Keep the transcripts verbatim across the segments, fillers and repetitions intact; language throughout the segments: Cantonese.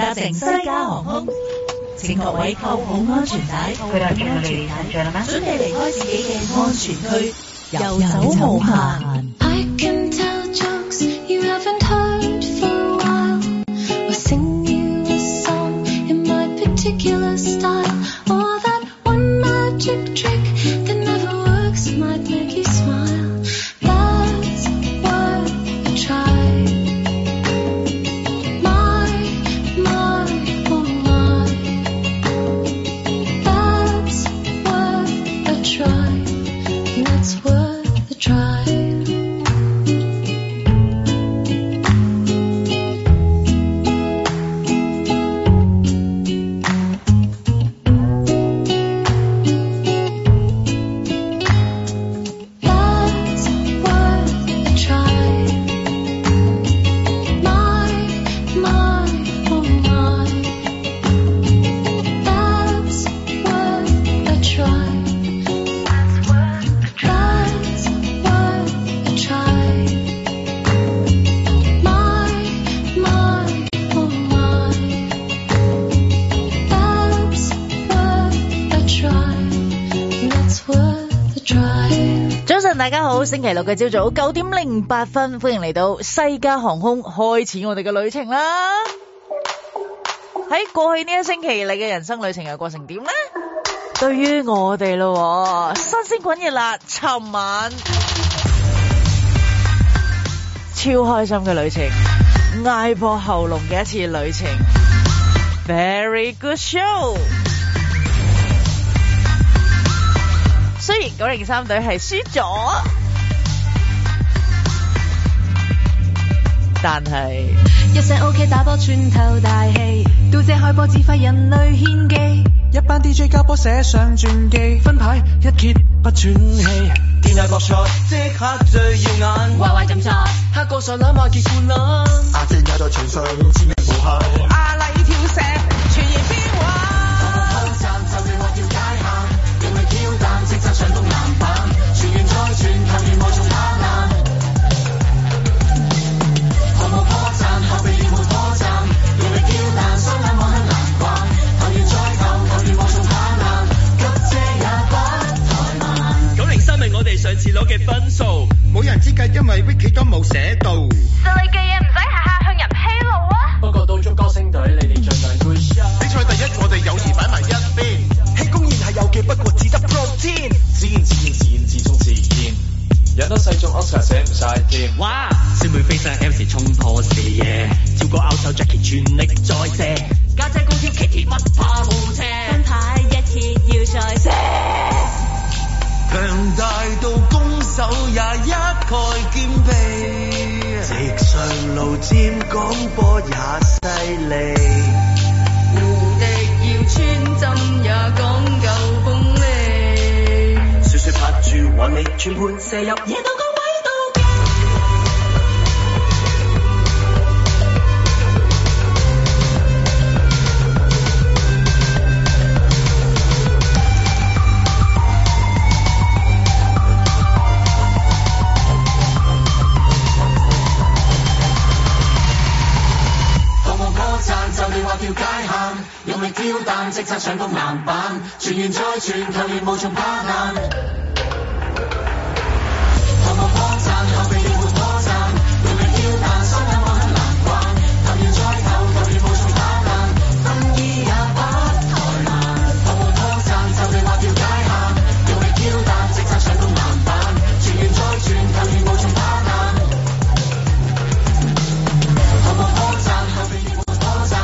搭乘西加航空，請各位扣好安全帶，扣好安全帶，準備離開自己嘅安全區，遊走無限。I can tell jokes you haven't heard for a while, or sing you a song in my particular style, or that one magic trick that never works might make you smile. That's worth a try. My, my, oh my. That's worth a try. That's worth a try.大家好，星期六嘅朝早九點零八分，歡迎嚟到西加航空，開始我哋嘅旅程啦。喺過去呢一星期，你嘅人生旅程又過成點呢？對於我哋咯，新鮮滾熱辣，尋晚超開心嘅旅程，嗌破喉嚨嘅一次旅程 ，Very good show。雖然九零三隊係輸咗，但係一聲 OK 打波穿透大氣，到這開波指揮人類獻技， 一班 D J 交波寫上傳記，分牌一揭不喘氣，天下國賽即刻最耀眼， 壞壞怎錯？ 黑個上攬馬結冠啦，阿正也在場上致命無限， 阿麗跳石傳言變幻。 即刻上到籃板，傳完再傳，球員無從怕難。毫無破綻，後備亦沒破綻，用力跳彈，雙眼望向籃板。球員再投，球員無從怕難，急遮也不怠慢。九零三係我哋上次攞嘅分數，冇人知計，因為 Wiki 都冇寫到。實力嘅嘢唔使下下向人披露啊。不過到咗歌星隊，你哋盡量 good shot。比賽第一，我哋有時擺埋一邊。公然係有嘅，不過只得 protein。自然自然自然自中自然，有得細眾 Oscar 寫唔晒添。哇！小妹飛上 M 時衝破視野，照過拗手 Jackie 全力再射，家姐高挑 Kitty 不怕冇車， 分牌一揭要再射， 強大到攻守也一概兼備，直上路尖講波也犀利。 穿針也講究鋒利， 雪雪拍住揾你全盤射入，野到個位度嘅。毫無破綻，就你話條界限。用力挑彈，即刻上到籃板，傳完再傳，球員無從怕難。毫無破綻，後備亦沒破綻，用力挑彈，雙眼望向籃板，球員再投，球員無從怕難，分衣也不怠慢。毫無破綻，就你話條界限，用力挑彈，即刻上到籃板，傳完再傳，球員無從怕難。毫無破綻，後備亦沒破綻。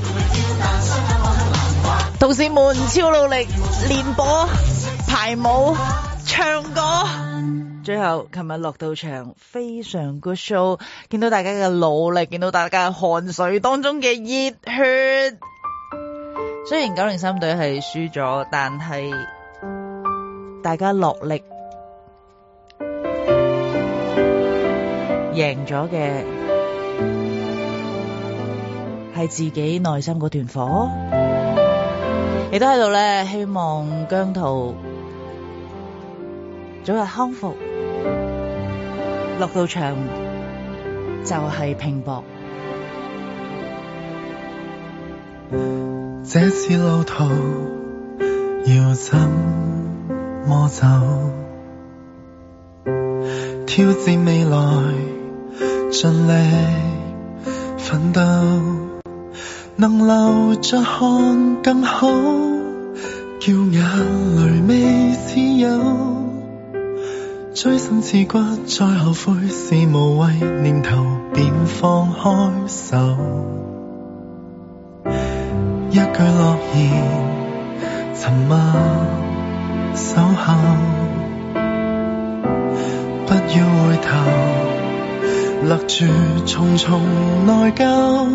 同事們超努力練波、排舞、唱歌，最後琴日落到場非常 good show， 見到大家嘅努力，見到大家嘅汗水當中嘅熱血。雖然九零三隊係輸咗，但係大家落力贏咗嘅係自己內心嗰團火。亦都喺度咧，希望姜濤早日康復，落到場就係拼搏。 這次路途要怎麼走？挑戰未來，盡力奮鬥，能留着看更好，叫眼淚未似有。錐心刺骨，再後悔是無謂念頭，便放開手。一句諾言，沉默守候，不要回頭，勒住重重內疚。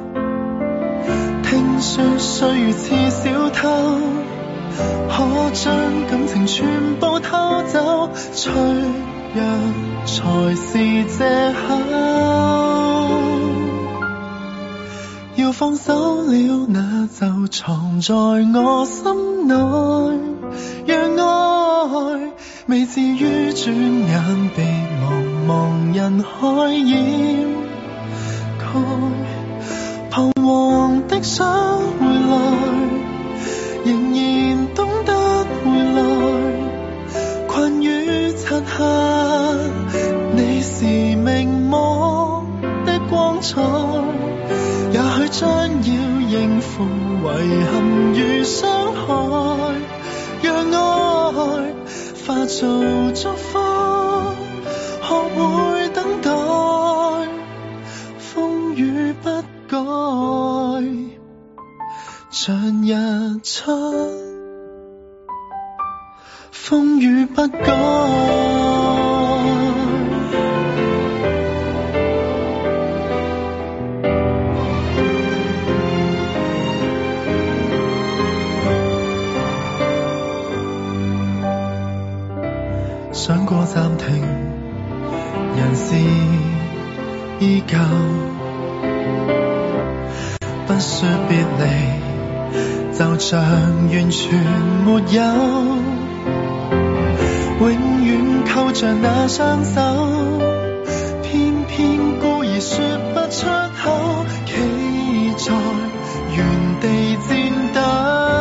聽說歲月似小偷，可將感情全部偷走，脆弱才是藉口。要放手了，那就藏在我心內，讓愛未至於轉眼被茫茫人海掩蓋。彷徨的想回來，仍然懂得回來，困於漆黑，你是明眸的光彩，也許將要應付遺憾與傷害，讓愛化做祝福，學會等待，風雨不改，像日出，風雨不改。想過暫停，人事依舊，不說別離，就像完全沒有，永遠扣着那雙手，偏偏故意說不出口，企在原地戰鬥。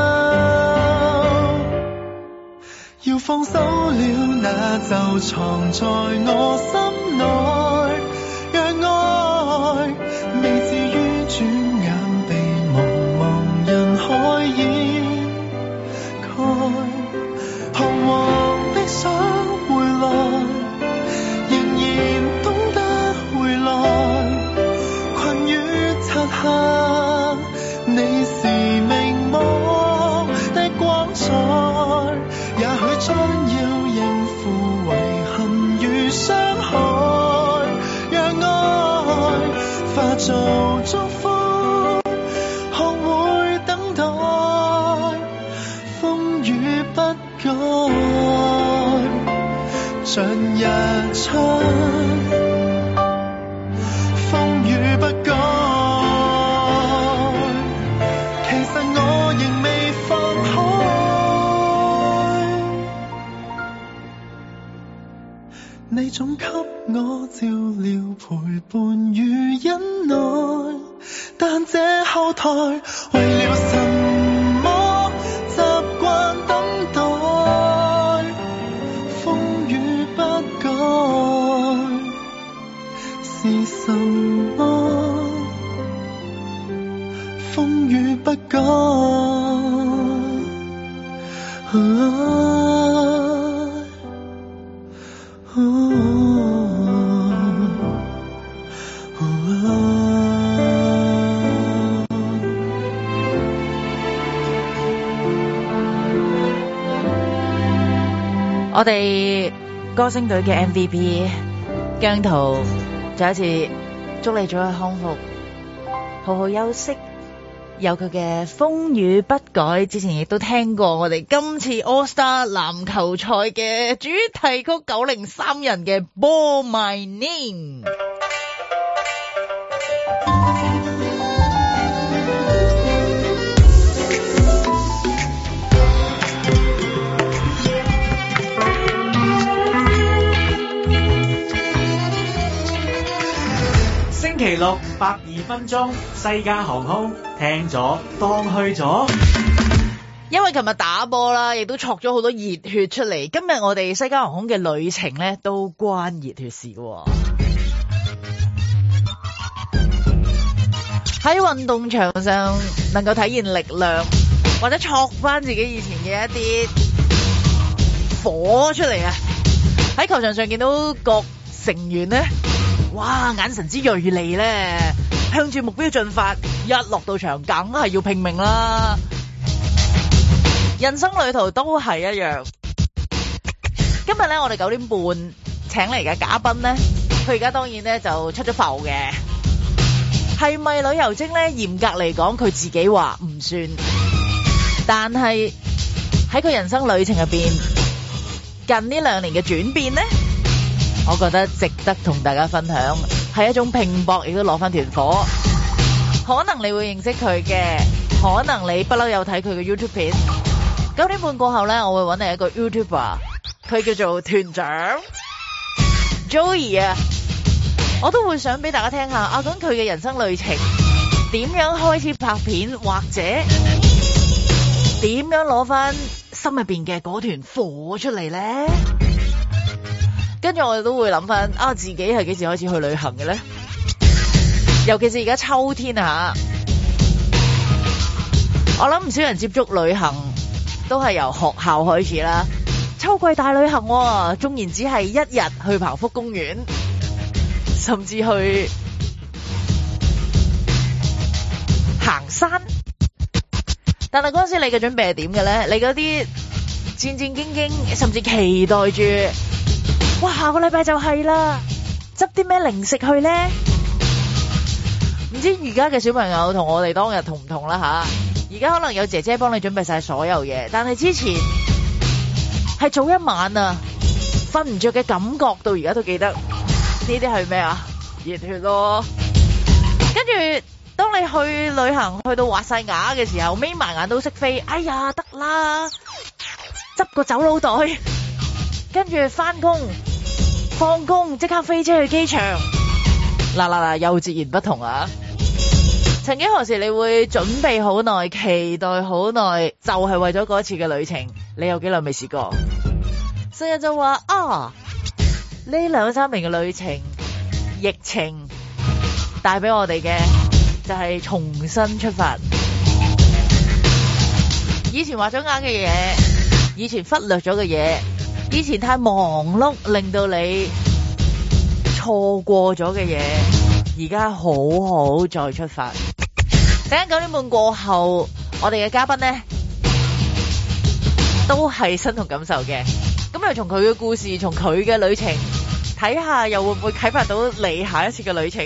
要放手了，那就藏在我心內，讓愛未至於轉眼被茫茫人海掩蓋。彷徨的想回來，仍然懂得回來，困於漆黑，你是明眸的光彩，也許將要應付遺憾與傷害，讓愛化做祝福，學會等待，風雨不改，像日出，風雨不改。其實我仍未放開，你總給我照料陪伴與忍耐，但這後台為了什麼習慣等待，風雨不改是什麼？風雨不改。啊我哋歌星隊嘅 M V P 姜濤再一次祝你早日康復，好好休息，有佢嘅風雨不改。之前亦都聽過我哋今次 All Star 籃球賽嘅主題曲九零三人嘅 Ball My Name。 星期六百二分鐘，西加航空聽咗當去咗。 因為琴日打波啦，亦都戳咗好多熱血出嚟。今日我哋西加航空嘅旅程咧，都關熱血事嘅。喺運動場上能夠體現力量，或者戳翻自己以前嘅一啲火出嚟啊！喺球場上見到各成員咧，哇，眼神之銳利咧，向住目標進發，一落到場梗係要拼命啦。人生旅途都係一樣。今日咧，我哋九點半請嚟嘅嘉賓咧，佢而家當然咧就出咗埠嘅。係咪旅遊精咧？嚴格嚟講，佢自己話唔算。但係喺佢人生旅程入邊，近呢兩年嘅轉變咧，我覺得值得同大家分享，係一種拼搏，亦都攞翻團火。可能你會認識佢嘅，可能你不嬲有睇佢嘅 YouTube 片。九點半過後咧，我會揾你一個 YouTuber， 佢叫做團長 Joey 啊，我都會想俾大家聽下啊，講佢嘅人生旅程，點樣開始拍片，或者點樣攞翻心入邊嘅嗰團火出嚟咧？跟住我哋都會諗翻啊，自己係幾時開始去旅行嘅咧？尤其是而家秋天啊，我諗唔少人接觸旅行都係由學校開始啦。秋季大旅行喎，縱然只係一日去彭福公園，甚至去行山。但係嗰陣時你嘅準備係點嘅咧？你嗰啲戰戰兢兢，甚至期待住，哇，下個禮拜就係啦，執啲咩零食去咧？唔知而家嘅小朋友同我哋當日同唔同啦吓？而家可能有姐姐幫你準備晒所有嘢，但係之前係早一晚啊，瞓唔着嘅感覺到而家都記得。呢啲係咩啊？熱血咯！跟住當你去旅行去到滑晒牙嘅時候，眯埋眼都識飛，哎呀得啦，執個走佬袋，跟住翻工放工即刻飛車去機場。嗱嗱嗱，又截然不同啊！曾經何時你會準備好耐，期待好耐，就係、是、為咗嗰一次嘅旅程？你有幾耐未試過？成日就話啊，呢兩三年嘅旅程，疫情帶俾我哋嘅就係重新出發。以前畫咗眼嘅嘢，以前忽略咗嘅嘢，以前太忙碌令到你錯過咗嘅嘢，而家好好再出發。等陣九點半過後，我哋嘅嘉賓呢都係身同感受嘅。咁又從佢嘅故事，從佢嘅旅程睇下，又會唔會啟發到你下一次嘅旅程？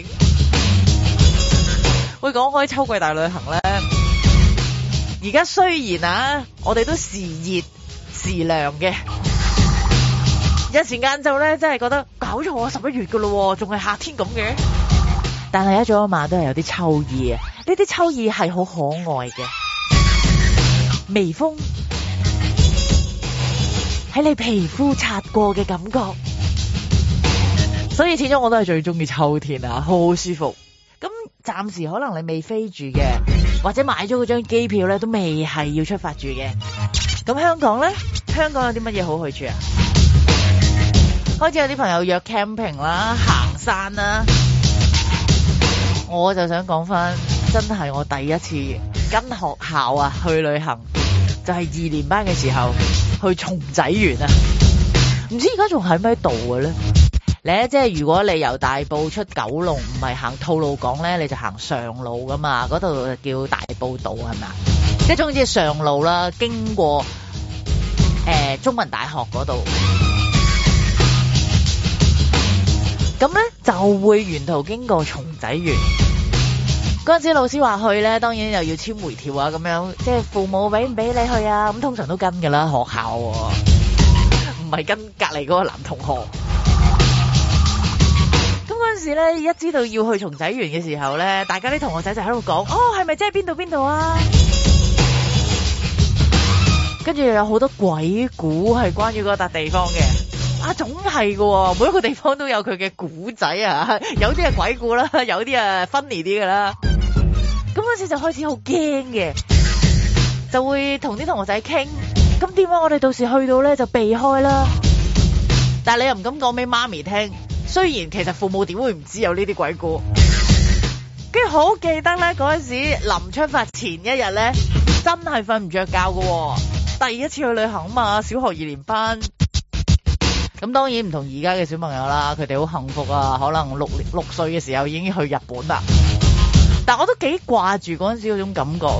會講開秋季大旅行呢，而家雖然啊，我哋都時熱時涼嘅，有時晏晝呢真係覺得搞錯啊，十一月噶咯，仲係夏天咁嘅。但係一早一晚都係有啲秋意啊！呢啲秋意係好可愛嘅，微風喺你皮膚擦過嘅感覺，所以始終我都係最中意秋天啊，好舒服。咁暫時可能你未飛住嘅，或者買咗嗰張機票咧都未係要出發住嘅。咁香港咧，香港有啲乜嘢好去處啊？開始有啲朋友約 camping 啦、行山啦。我就想講翻，真係我第一次跟學校啊去旅行，就係二年班嘅時候去松仔園啊。唔知而家仲喺咩度嘅咧？咧即係如果你由大埔出九龍，唔係行吐露港咧，你就行上路噶嘛。嗰度叫大埔道係咪啊？即係總之係上路啦，經過誒、呃、中文大學嗰度，咁咧就會沿途經過松仔園。嗰陣時老師話去咧，當然又要簽回條啊，咁樣即係父母俾唔俾你去啊？咁通常都跟㗎啦，學校唔、啊、係跟隔離嗰個男同學。咁嗰陣時咧，一知道要去松仔園嘅時候咧，大家啲同學仔就喺度講：哦，係咪即係邊度邊度啊？跟住又有好多鬼故係關於嗰笪地方嘅， 啊，總係嘅，每一個地方都有佢嘅古仔啊，有啲係鬼故啦，有啲係 funny 啲嘅啦。咁嗰時就開始好驚嘅，就會同啲同學仔傾，咁點解我哋到時去到咧就避開啦？但係你又唔敢講俾媽咪聽，雖然其實父母點會唔知有呢啲鬼故。跟住好記得咧，嗰陣時臨出發前一日咧，真係瞓唔着覺嘅，第一次去旅行啊嘛，小學二年班。咁當然唔同而家嘅小朋友啦，佢哋好幸福啊，可能六六歲嘅時候已經去日本啦。但我都幾掛住嗰陣時嗰種感覺，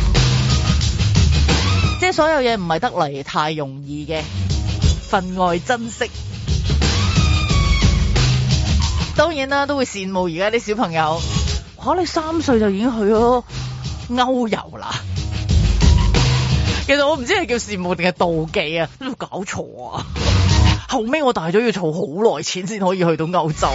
即係所有嘢唔係得嚟太容易嘅，分外珍惜。當然啦，都會羨慕而家啲小朋友，嚇你三歲就已經去咗歐遊啦。其實我唔知係叫羨慕定係妒忌啊，都搞錯啊！後尾我大咗要儲好耐錢先可以去到歐洲，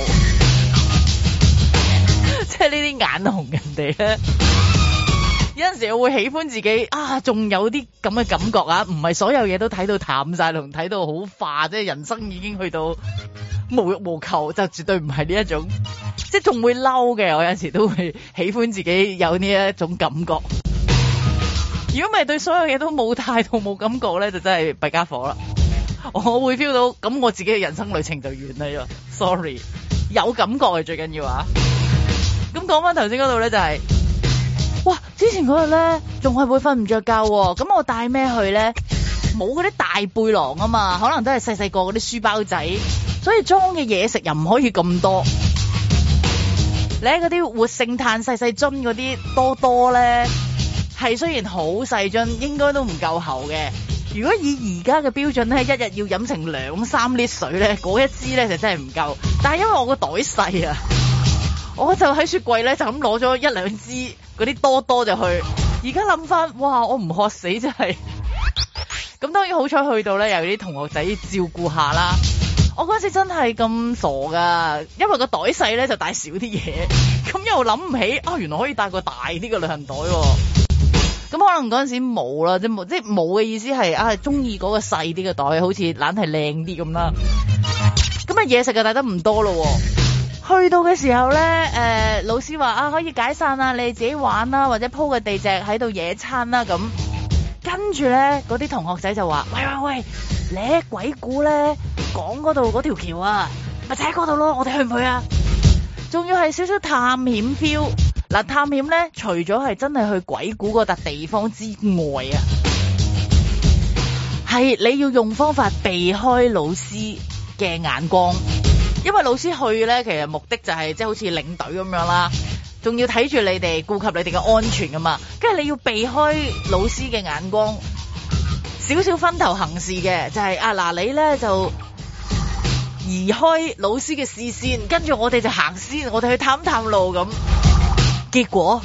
即係呢啲眼紅人哋咧。有陣時我會喜歡自己啊，仲有啲咁嘅感覺啊，唔係所有嘢都睇到淡晒同睇到好化，即係人生已經去到無欲無求，就絕對唔係呢一種，即係仲會嬲嘅。我有陣時都會喜歡自己有呢一種感覺。如果唔係對所有嘢都冇態度冇感覺咧，就真係弊家伙啦。我會 feel 到咁，我自己嘅人生旅程就完啦。Sorry， 有感覺係最緊要啊。咁講翻頭先嗰度咧，就係、是、哇，之前嗰日咧仲係會瞓唔着覺喎。咁我帶咩去咧？冇嗰啲大背囊啊嘛，可能都係細細個嗰啲書包仔，所以裝嘅嘢食又唔可以咁多。你喺嗰啲活性炭細細樽嗰啲多多咧，係雖然好細樽，應該都唔夠喉嘅。如果以而家嘅標準咧，一日要飲成兩三 lit 水咧，嗰一支咧就真係唔夠。但係因為我個袋細啊，我就喺雪櫃咧就咁攞咗一兩支嗰啲多多就去。而家諗翻，哇！我唔渴死真係。咁當然好彩去到咧，有啲同學仔照顧下啦。我嗰時真係咁傻噶，因為個袋細咧就帶少啲嘢，咁又諗唔起啊，原來可以帶個大啲嘅旅行袋喎。咁可能嗰陣時冇啦，即係冇，即係冇嘅意思係啊，中意嗰個細啲嘅袋，好似懶係靚啲咁啦。咁啊嘢食就帶得唔多咯。去到嘅時候咧，誒、呃、老師話啊可以解散啊，你哋自己玩啦，或者鋪個地席喺度野餐啦咁。跟住咧，嗰啲同學仔就話：喂喂喂，你鬼故咧講嗰度嗰條橋啊，咪就喺嗰度咯，我哋去唔去啊？仲要係少少探險 feel。嗱，探險咧，除咗係真係去鬼故嗰笪地方之外啊，係你要用方法避開老師嘅眼光，因為老師去咧，其實目的就係即係好似領隊咁樣啦，仲要睇住你哋，顧及你哋嘅安全噶嘛，跟住你要避開老師嘅眼光，少少分頭行事嘅，就係、是、啊嗱，你咧就移開老師嘅視線，跟住我哋就行先，我哋去探探路咁。結果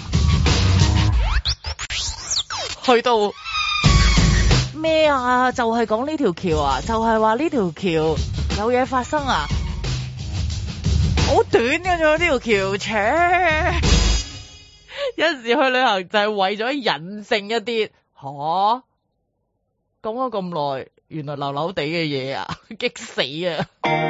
去到咩啊？就係講呢條橋啊，就係話呢條橋有嘢發生啊！好短嘅啫，呢條橋，扯有陣時去旅行就係為咗隱性一啲吓，講咗咁耐，原來流流地嘅嘢啊，激死啊！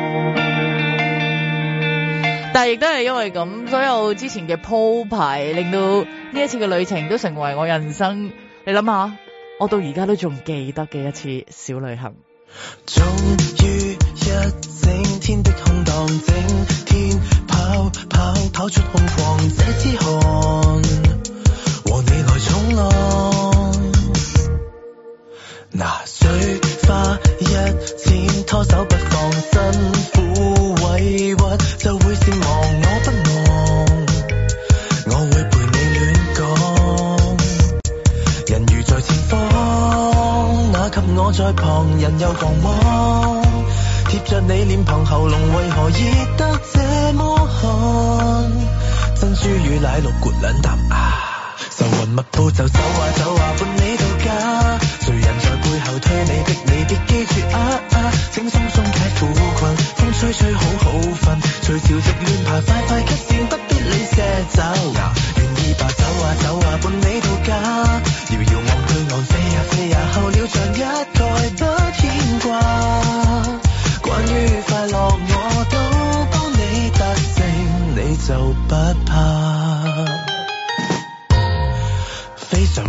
但係亦都係因為咁，所有之前嘅鋪排，令到呢一次嘅旅程都成為我人生。你諗下，我到而家都仲記得嘅一次小旅行。 終於一整天的空檔，整天跑跑跑出空曠，這支汗和你來衝浪。拿水花一濺，拖手不放，辛苦委屈就會善忘，我不忘，我會陪你亂講。人如在前方，那給我在旁人又狂妄，貼着你臉龐喉嚨為何熱得這麼寒？珍珠與奶綠罐兩啖啊，愁雲密布就走啊走啊伴你到家，誰人在背後推你逼你，別記住啊啊，請鬆鬆解苦困，風吹吹好好瞓，隨潮汐亂爬快快吸線，不必理些走，願意吧走啊走啊伴你到家，遙遙望對岸飛啊飛啊，候鳥像一概不牽掛，關於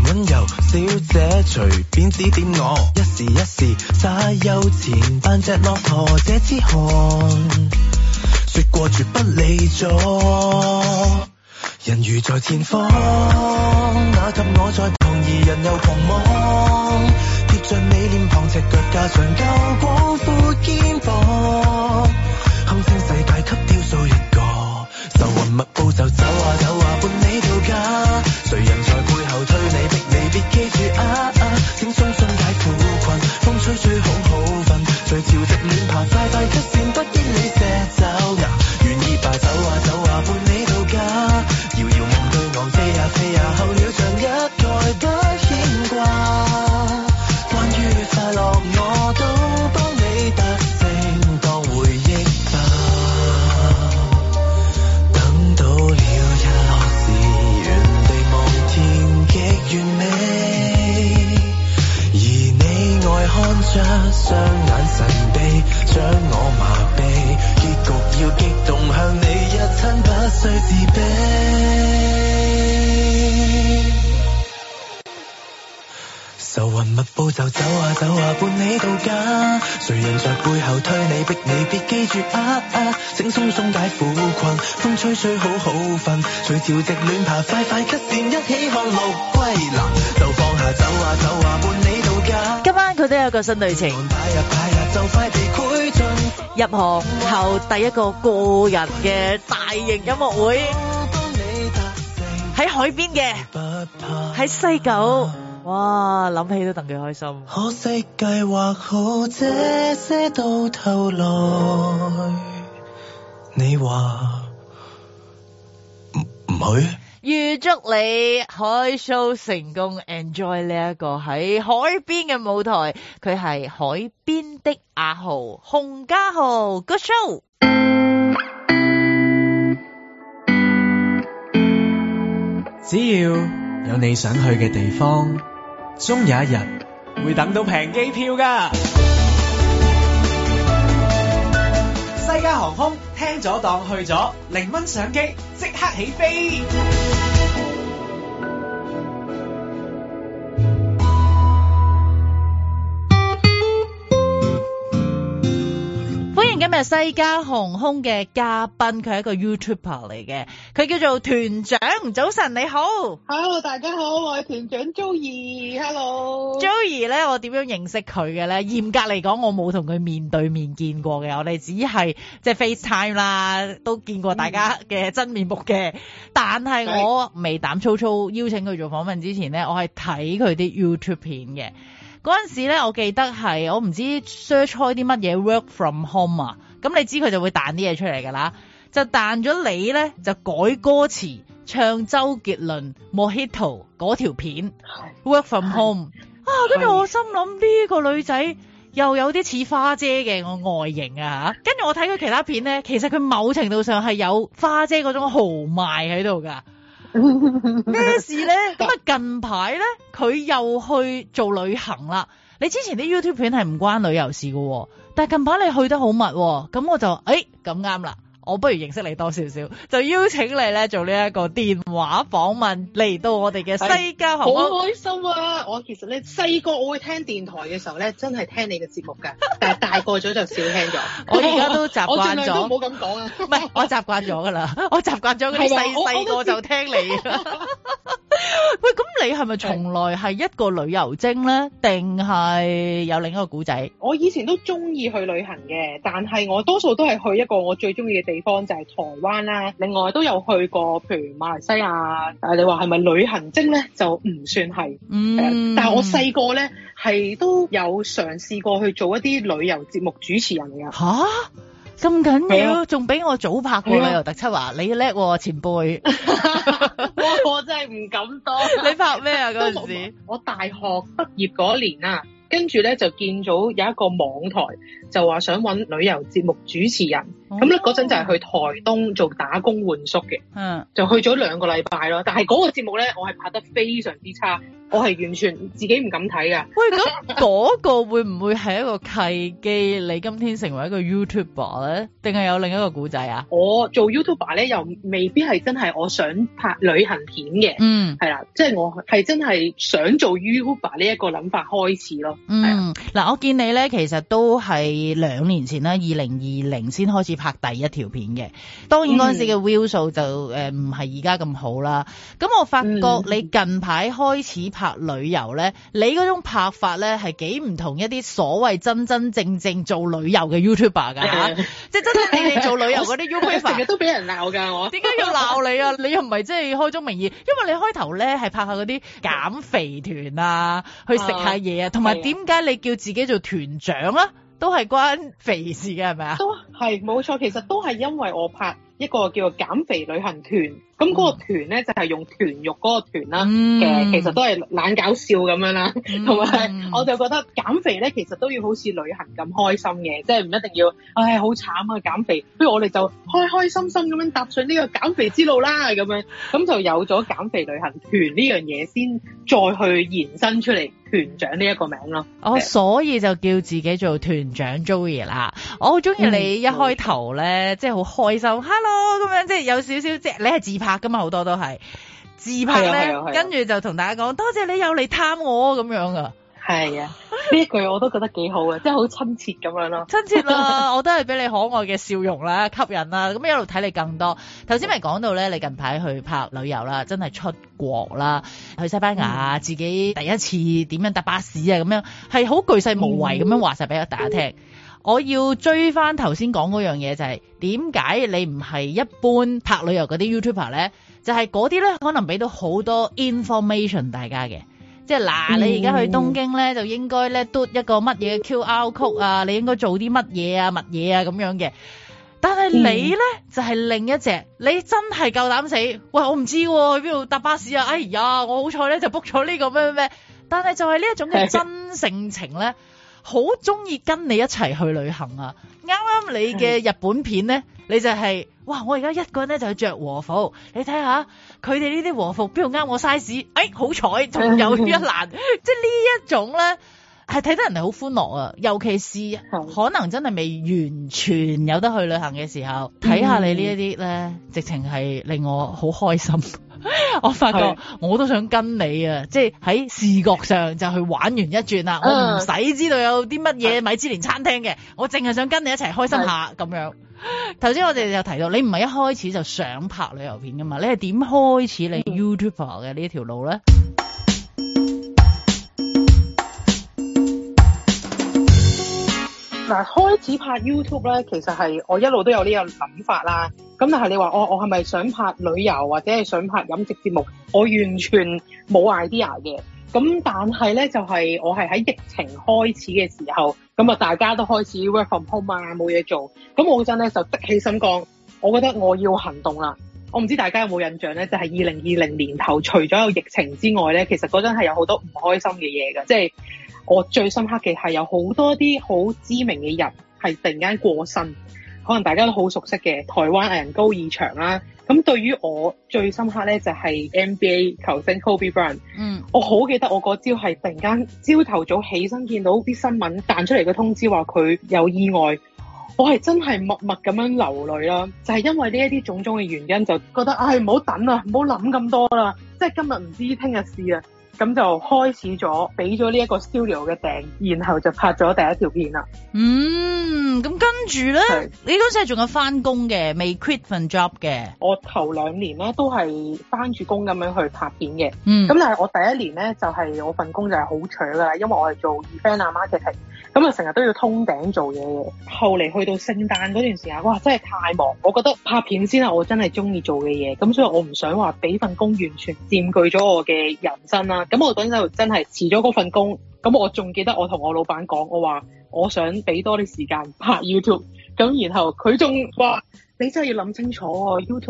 溫柔小姐隨便指點我，一時一時耍悠閒扮隻駱駝，這支汗說過絕不理咗。人如在前方，那給我在旁，而人又狂妄，貼着你臉龐，赤腳架長夠廣闊肩膀，堪稱世界級雕塑一個，愁雲密布就走啊走啊伴你到家，誰人在背後推你逼你，別記住啊啊，請鬆鬆解苦困，風吹吹好好瞓，隨潮汐亂爬快快咳線，不經你射爪牙，願意吧走啊走啊伴你到家，遙遙夢對岸飛呀飛呀，候鳥像一概不牽掛，關於快樂我都幫你達成當回憶吧，等到了日落時原地望天極完美，而你愛看着雙眼神秘將我麻痹，結局要激動向你一親不需自卑，愁雲密布就走啊走啊伴你到家，誰人在背後推你逼你，別記住啊啊，請鬆鬆解苦困，風吹吹好好瞓，隨潮汐亂爬快快咳線，一起看陸歸藍，就放下走啊走啊伴你到家。 今晚佢都有個新旅程， 擺呀擺呀就快地攰盡， 入行後第一個個人嘅大型音樂會，喺海邊嘅，喺西九。哇，諗起都戥佢開心。 可惜計劃好這些到頭來，你話唔唔去？ 預祝你海 show 成功 ，enjoy 呢一個喺海邊嘅舞台。佢係海邊的阿豪，洪家豪 ，Good show！ 只要有你想去嘅地方，終有一日會等到平機票㗎。西加航空聽咗檔去咗，零蚊上機即刻起飛。 今日西加航空嘅嘉賓，佢係一個 YouTuber 嚟嘅，佢叫做團長。早晨你好 ，Hello 大家好，我係團長 Joey。Hello Joey 咧，我點樣認識佢嘅咧？嚴格嚟講，我冇同佢面對面見過嘅，我哋只係即係 FaceTime 啦，都見過大家嘅真面目嘅。嗯、但係我未膽粗粗邀請佢做訪問之前咧，我係睇佢啲 YouTube 片嘅。嗰陣時咧，我記得係我唔知 search 開啲乜嘢 work from home 啊，咁你知佢就會彈啲嘢出嚟㗎啦，就彈咗你咧就改歌詞唱周杰倫 Mojito 嗰條片 work from home 啊，跟住我心諗呢個女仔又有啲似花姐嘅我外形啊嚇，跟住我睇佢其他片咧，其實佢某程度上係有花姐嗰種豪邁喺度㗎。咩事咧？咁啊近排咧佢又去做旅行啦。你之前啲 YouTube 片係唔關旅遊事嘅，但係近排你去得好密，咁我就誒咁啱啦。我不如認識你多少少，就邀請你咧做呢一個電話訪問嚟到我哋嘅西加航空。 好開心啊！我其實咧細個我會聽電台嘅時候咧，真係聽你嘅節目㗎，但係大個咗就少聽咗。 我而家都習慣咗。我盡量都唔好咁講啊。唔係，我習慣咗㗎啦，我習慣咗嗰啲細細個就聽你。喂，咁你係咪從來係一個旅遊精咧，定係有另一個古仔？ 我以前都中意去旅行嘅，但係我多數都係去一個我最中意嘅地方，就係台灣啦。另外都有去過，譬如馬來西亞。誒，你話係咪旅行精咧？就唔算係。嗯。但係我細個咧係都有嘗試過去做一啲旅遊節目主持人㗎。 吓？咁緊要，仲比我早拍過旅遊特輯啊！你叻喎，前輩。 我真係唔敢當。 你拍咩啊？嗰陣時？ 我大學畢業嗰年啊，跟住咧就見到有一個網台就話想搵旅遊節目主持人， 咁咧嗰陣就係去台東做打工換宿嘅， 嗯， 就去咗兩個禮拜咯。但係嗰個節目咧，我係拍得非常之差，我係完全自己唔敢睇噶。 喂，咁嗰個會唔會係一個契機，你今天成為一個 YouTuber 咧？定係有另一個故仔啊？ 我做 YouTuber 咧，又未必係真係我想拍旅行片嘅，嗯，係啦，即係我係真係想做 YouTuber 呢一個諗法開始咯。 嗯，嗱，我見你咧，其實都係兩年前啦，二零二零先開始拍第一條片嘅。當然嗰陣時嘅 view 數就誒唔係而家咁好啦。咁我發覺你近排開始拍旅遊咧，你嗰種拍法咧係幾唔同一啲所謂真真正正做旅遊嘅 YouTuber 㗎嚇，即係真真正正做旅遊嗰啲 YouTuber 成日都俾人鬧㗎。我點解要鬧你啊？你又唔係即係開宗明義，因為你開頭咧係拍下嗰啲減肥團啊，去食下嘢啊，同埋點解你叫自己做團長啊？都係關肥事嘅係咪啊？ 都係冇錯，其實都係因為我拍一個叫做減肥旅行團，咁嗰個團咧就係用團肉嗰個團啦嘅、嗯，其實都係懶搞笑咁樣啦，同、嗯、埋我就覺得減肥咧其實都要好似旅行咁開心嘅，即係唔一定要，唉好慘啊減肥，不如我哋就開開心心咁樣踏上呢個減肥之路啦，咁樣咁就有咗減肥旅行團呢樣嘢，先再去延伸出嚟團長呢一個名咯。 哦，所以就叫自己做團長 Joey 啦。我好中意你一開頭咧、嗯，即係好開心 ，hello 咁樣，即係有少少即係你係自拍噶嘛，好多都係自拍咧，跟住就同大家講多謝你有嚟探我咁樣噶。 係啊，呢一句我都覺得幾好嘅，即係好親切咁樣咯。 親切啦，我都係俾你可愛嘅笑容啦，吸引啦，咁一路睇你更多。頭先咪講到咧，你近排去拍旅遊啦，真係出國啦，去西班牙、嗯，自己第一次點樣搭巴士啊，咁樣係好巨細無遺咁樣話晒俾大家聽。嗯、我要追翻頭先講嗰樣嘢，就係點解你唔係一般拍旅遊嗰啲 YouTuber 咧？就係嗰啲咧，可能俾到好多 information 大家嘅。即係嗱，你而家去東京咧，就應該咧嘟一個乜嘢 Q R code 啊，你應該做啲乜嘢啊、乜嘢啊咁樣嘅。但係你咧、嗯、就係、是、另一隻，你真係夠膽死，喂，我唔知喎、啊，去邊度搭巴士啊？哎呀，我好彩咧就 book 咗呢個咩咩咩。但係就係呢一種嘅真性情咧，好中意跟你一齊去旅行啊！啱啱你嘅日本片咧，你就係、是。哇！我而家一個人咧就去着和服，你睇下佢哋呢啲和服邊度啱我 size？ 哎，好彩仲有一欄，即係呢一種咧係睇得人哋好歡樂啊！尤其是可能真係未完全有得去旅行嘅時候，睇下你呢一啲咧，直情係令我好開心。我發覺我都想跟你啊，即係喺視覺上就去玩完一轉啦。我唔使知道有啲乜嘢米芝蓮餐廳嘅，我淨係想跟你一齊開心下咁樣。頭先我哋就提到，你唔係一開始就想拍旅遊片噶嘛？你係點開始你 YouTuber 嘅呢條路咧？ 嗱，開始拍 YouTube 咧，其實係我一路都有呢個諗法啦。咁但係你話我我係咪想拍旅遊或者係想拍飲食節目？我完全冇 idea 嘅。咁但係咧，就係、是、我係喺疫情開始嘅時候，咁啊大家都開始 work from home 啊，冇嘢做。咁我嗰陣咧就的起心肝，我覺得我要行動啦。我唔知大家有冇印象咧，就係二零二零年頭，除咗有疫情之外咧，其實嗰陣係有好多唔開心嘅嘢㗎。即係我最深刻嘅係有好多啲好知名嘅人係突然間過身，可能大家都好熟悉嘅台灣藝人高以翔啦。咁對於我最深刻咧就係 N B A 球星 Kobe Bryant。嗯，我好記得我嗰朝係突然間朝頭早起身見到啲新聞彈出嚟嘅通知話佢有意外，我係真係默默咁樣流淚啦。就係因為呢一啲種種嘅原因，就覺得唉唔好等啊，唔好諗咁多啦，即係今日唔知聽日事啊。咁就開始咗，俾咗呢一個 studio 嘅訂，然後就拍咗第一條片啦。 嗯，咁跟住咧，你嗰陣時係仲有翻工嘅，未 quit 份 job 嘅。 我頭兩年咧都係翻住工咁樣去拍片嘅。嗯，咁但係我第一年咧就係、是、我份工就係好搶噶啦，因為我係做 event 啊 marketing，咁啊成日都要通頂做嘢嘅。後嚟去到聖誕嗰段時間，哇真係太忙，我覺得拍片先係我真係中意做嘅嘢，咁所以我唔想話俾份工完全佔據咗我嘅人生啦。咁我嗰陣就真係辭咗嗰份工，咁我仲記得我同我老闆講，我話我想俾多啲時間拍 YouTube，咁然後佢仲話你真係要諗清楚喎，YouTube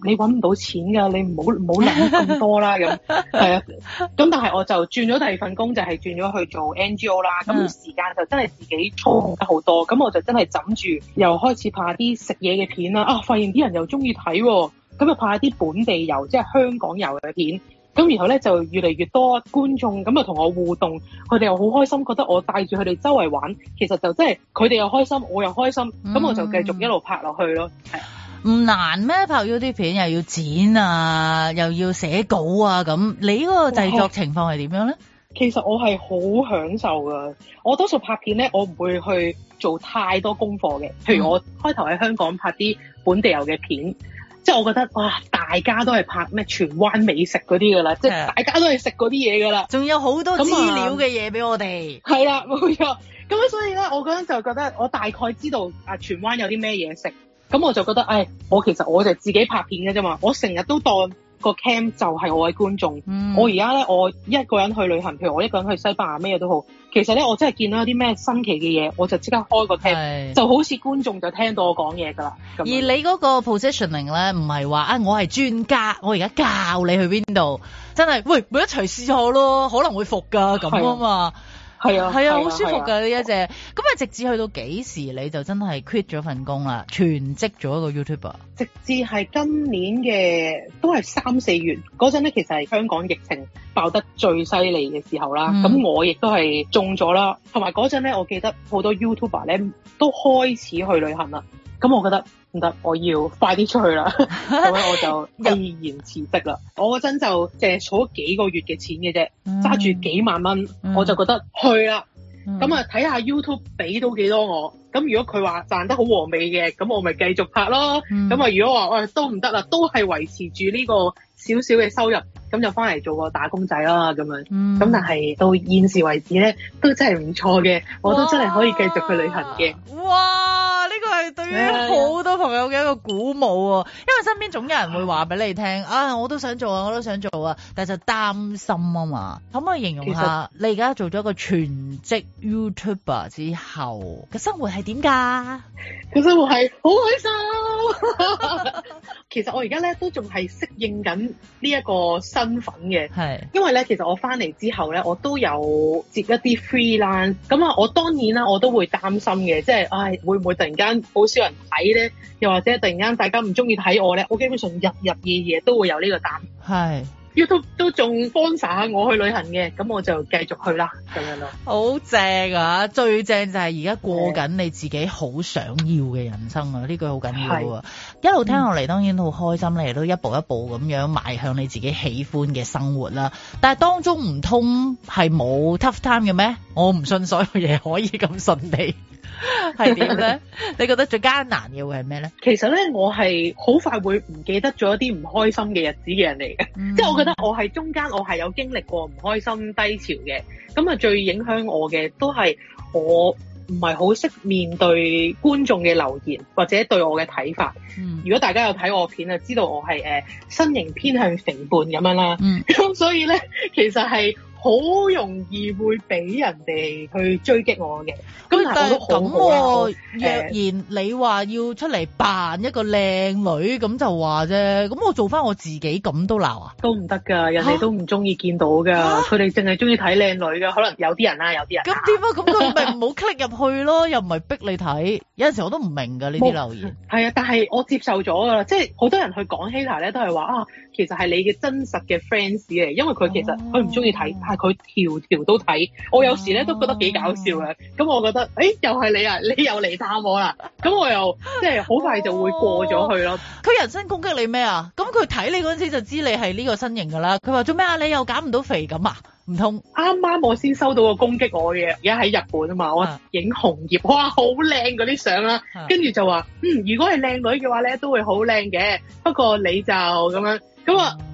你揾唔到錢㗎，你唔好唔好諗咁多啦咁。係啊，咁但係我就轉咗第二份工，就係轉咗去做 N G O 啦。咁時間就真係自己操控得好多，咁我就真係枕住又開始拍啲食嘢嘅片啦。啊，發現啲人又中意睇喎，咁就拍一啲本地遊，即係香港遊嘅片。咁然後咧就越嚟越多觀眾咁啊同我互動，佢哋又好開心，覺得我帶住佢哋周圍玩，其實就真係佢哋又開心，我又開心，咁、嗯、我就繼續一路拍落去咯。係唔難咩？拍咗啲片又要剪啊，又要寫稿啊，咁你嗰個製作情況係點樣咧？ 其實我係好享受噶，我多數拍片咧，我唔會去做太多功課嘅。譬如我開頭喺香港拍啲本地遊嘅片。即係我覺得哇，大家都係拍咩荃灣美食嗰啲㗎啦，即係大家都係食嗰啲嘢㗎啦， 仲有好多資料嘅嘢俾我哋。 係啦，冇錯。咁樣所以咧，我嗰陣就覺得我大概知道啊荃灣有啲咩嘢食，咁我就覺得，唉，我其實我就自己拍片嘅啫嘛，我成日都當個 cam 就係我嘅觀眾。嗯、我而家咧，我一個人去旅行，譬如我一個人去西班牙咩嘢都好，其實咧我真係見到有啲咩新奇嘅嘢，我就即刻開個 cam，就好似觀眾就聽到我講嘢㗎啦。 而你嗰個 positioning 咧，唔係話啊，我係專家，我而家教你去邊度，真係喂，咪一齊試下咯，可能會服㗎咁啊嘛。係啊，係啊，好舒服㗎呢一隻。咁啊，直至去到幾時你就真係 quit 咗份工啦，全職做一個 YouTuber？ 直至係今年嘅都係三四月嗰陣咧，其實係香港疫情爆得最犀利嘅時候啦。咁、嗯、我亦都係中咗啦，同埋嗰陣咧，我記得好多 YouTuber 咧都開始去旅行啦。咁我覺得唔得，我要快啲出去啦。咁樣我就毅然辭職啦。我嗰陣就淨係儲咗幾個月嘅錢嘅啫，揸、嗯、住幾萬蚊、嗯，我就覺得去啦。咁啊睇下 YouTube 俾到幾多我。咁如果佢話賺得好和美嘅，咁我咪繼續拍咯。咁、嗯、啊如果話喂、哎、都唔得啦，都係維持住呢個少少嘅收入，咁就翻嚟做個打工仔啦咁樣。咁、嗯、但係到現時為止咧，都真係唔錯嘅，我都真係可以繼續去旅行嘅。 哇！呢個係對於好多朋友嘅一個鼓舞啊，因為身邊總有人會話俾你聽啊，我都想做啊，我都想做啊，但係就擔心啊嘛。可唔可以形容下你而家做咗一個全職 YouTuber 之後嘅生活係點㗎？ 嘅生活係好開心。其實我而家咧都仲係適應緊呢一個身份嘅，係因為咧其實我翻嚟之後咧，我都有接一啲 freelance，咁啊我當然啦，我都會擔心嘅，即係唉會唔會突然間好少人睇咧，又或者突然間大家唔中意睇我咧，我基本上日日夜夜都會有呢個擔心。係。YouTube 都仲幫曬下我去旅行嘅，咁我就繼續去啦，咁樣咯。好正啊！最正就係而家過緊你自己好想要嘅人生啊！呢句好緊要啊！一路聽落嚟，當然好開心，你亦都一步一步咁樣邁向你自己喜歡嘅生活啦。但係當中唔通係冇 tough time 嘅咩？我唔信所有嘢可以咁順利。係點咧？你覺得最艱難嘅會係咩咧？其實咧，我係好快會唔記得咗一啲唔開心嘅日子嘅人嚟嘅，嗯，即係我覺得我係中間我係有經歷過唔開心低潮嘅，咁啊最影響我嘅都係我唔係好識面對觀眾嘅留言或者對我嘅睇法，嗯。如果大家有睇我片啊，知道我係誒身形偏向肥胖咁樣啦，咁，嗯，所以咧其實係好容易會俾人哋去追擊我嘅。咁但係咁喎，若然你話要出嚟扮一個靚女咁就話啫，咁我做翻我自己咁都鬧啊？都唔得㗎，人哋都唔中意見到㗎，佢哋淨係中意睇靚女㗎。可能有啲人啦，有啲人。咁點啊？咁佢咪唔好 click 入去咯，又唔係逼你睇。有陣時我都唔明㗎呢啲留言。係啊，但係我接受咗㗎啦，即係好多人去講 hater 咧，都係話啊，其實係你嘅真實嘅 fans 嚟，因為佢其實佢唔中意睇，但係佢條條都睇。我有時咧都覺得幾搞笑嘅，咁我覺得。誒，又係你啊！你又嚟探我啦，咁我又即係好快就會過咗去咯。佢、哦、人身攻擊你咩啊？咁佢睇你嗰陣時就知你係呢個身形噶啦。佢話做咩啊？你又減唔到肥咁啊？唔通啱啱我先收到個攻擊我嘅，而家喺日本啊嘛，我影紅葉，哇，好靚嗰啲相啦，跟住就話，嗯，如果係靚女嘅話咧，都會好靚嘅，不過你就咁樣。咁啊，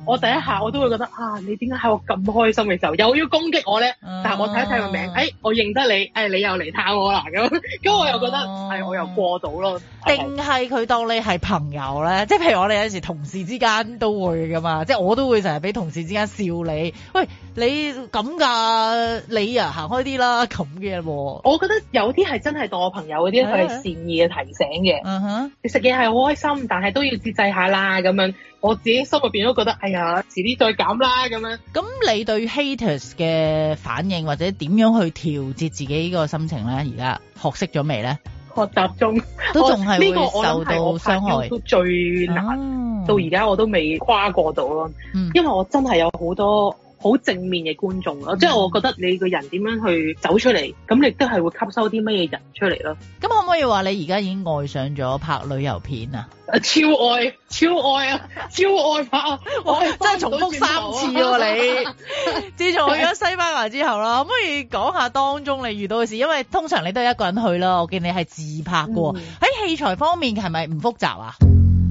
我第一下我都會覺得啊，你點解喺我咁開心嘅時候又要攻擊我咧？ 嗯、 但係我睇一睇個名，誒、哎，我認得你，誒、哎，你又嚟探我啦咁，咁我又覺得係、 嗯哎、我又過到咯。 定係佢當你係朋友咧？即係譬如我哋有時同事之間都會噶嘛，即係我都會成日俾同事之間笑你，喂，你咁㗎，你啊行開啲啦咁嘅喎。 我覺得有啲係真係當我朋友嗰啲，佢係善意嘅提醒嘅。 嗯哼， 你食嘢係好開心，但係都要節制下啦咁樣。我自己心入邊都覺得，哎呀，遲啲再減啦咁樣。 咁你對 haters 嘅反應或者點樣去調節自己個心情咧？而家學識咗未咧？學習中都仲係會受到傷害，都最難、哦、到而家我都未跨過到咯、嗯。因為我真係有好多好正面嘅觀眾咯、嗯，即係我覺得你個人點樣去走出嚟，咁你都係會吸收啲乜嘢人出嚟咯。咁可唔可以話你而家已經愛上咗拍旅遊片啊？超愛超愛啊，超愛拍啊！我真係重複三次喎、啊、你。自從去咗西班牙之後啦，可唔可以講下當中你遇到嘅事？因為通常你都係一個人去啦，我見你係自拍嘅喎。喺、嗯、器材方面係咪唔複雜啊？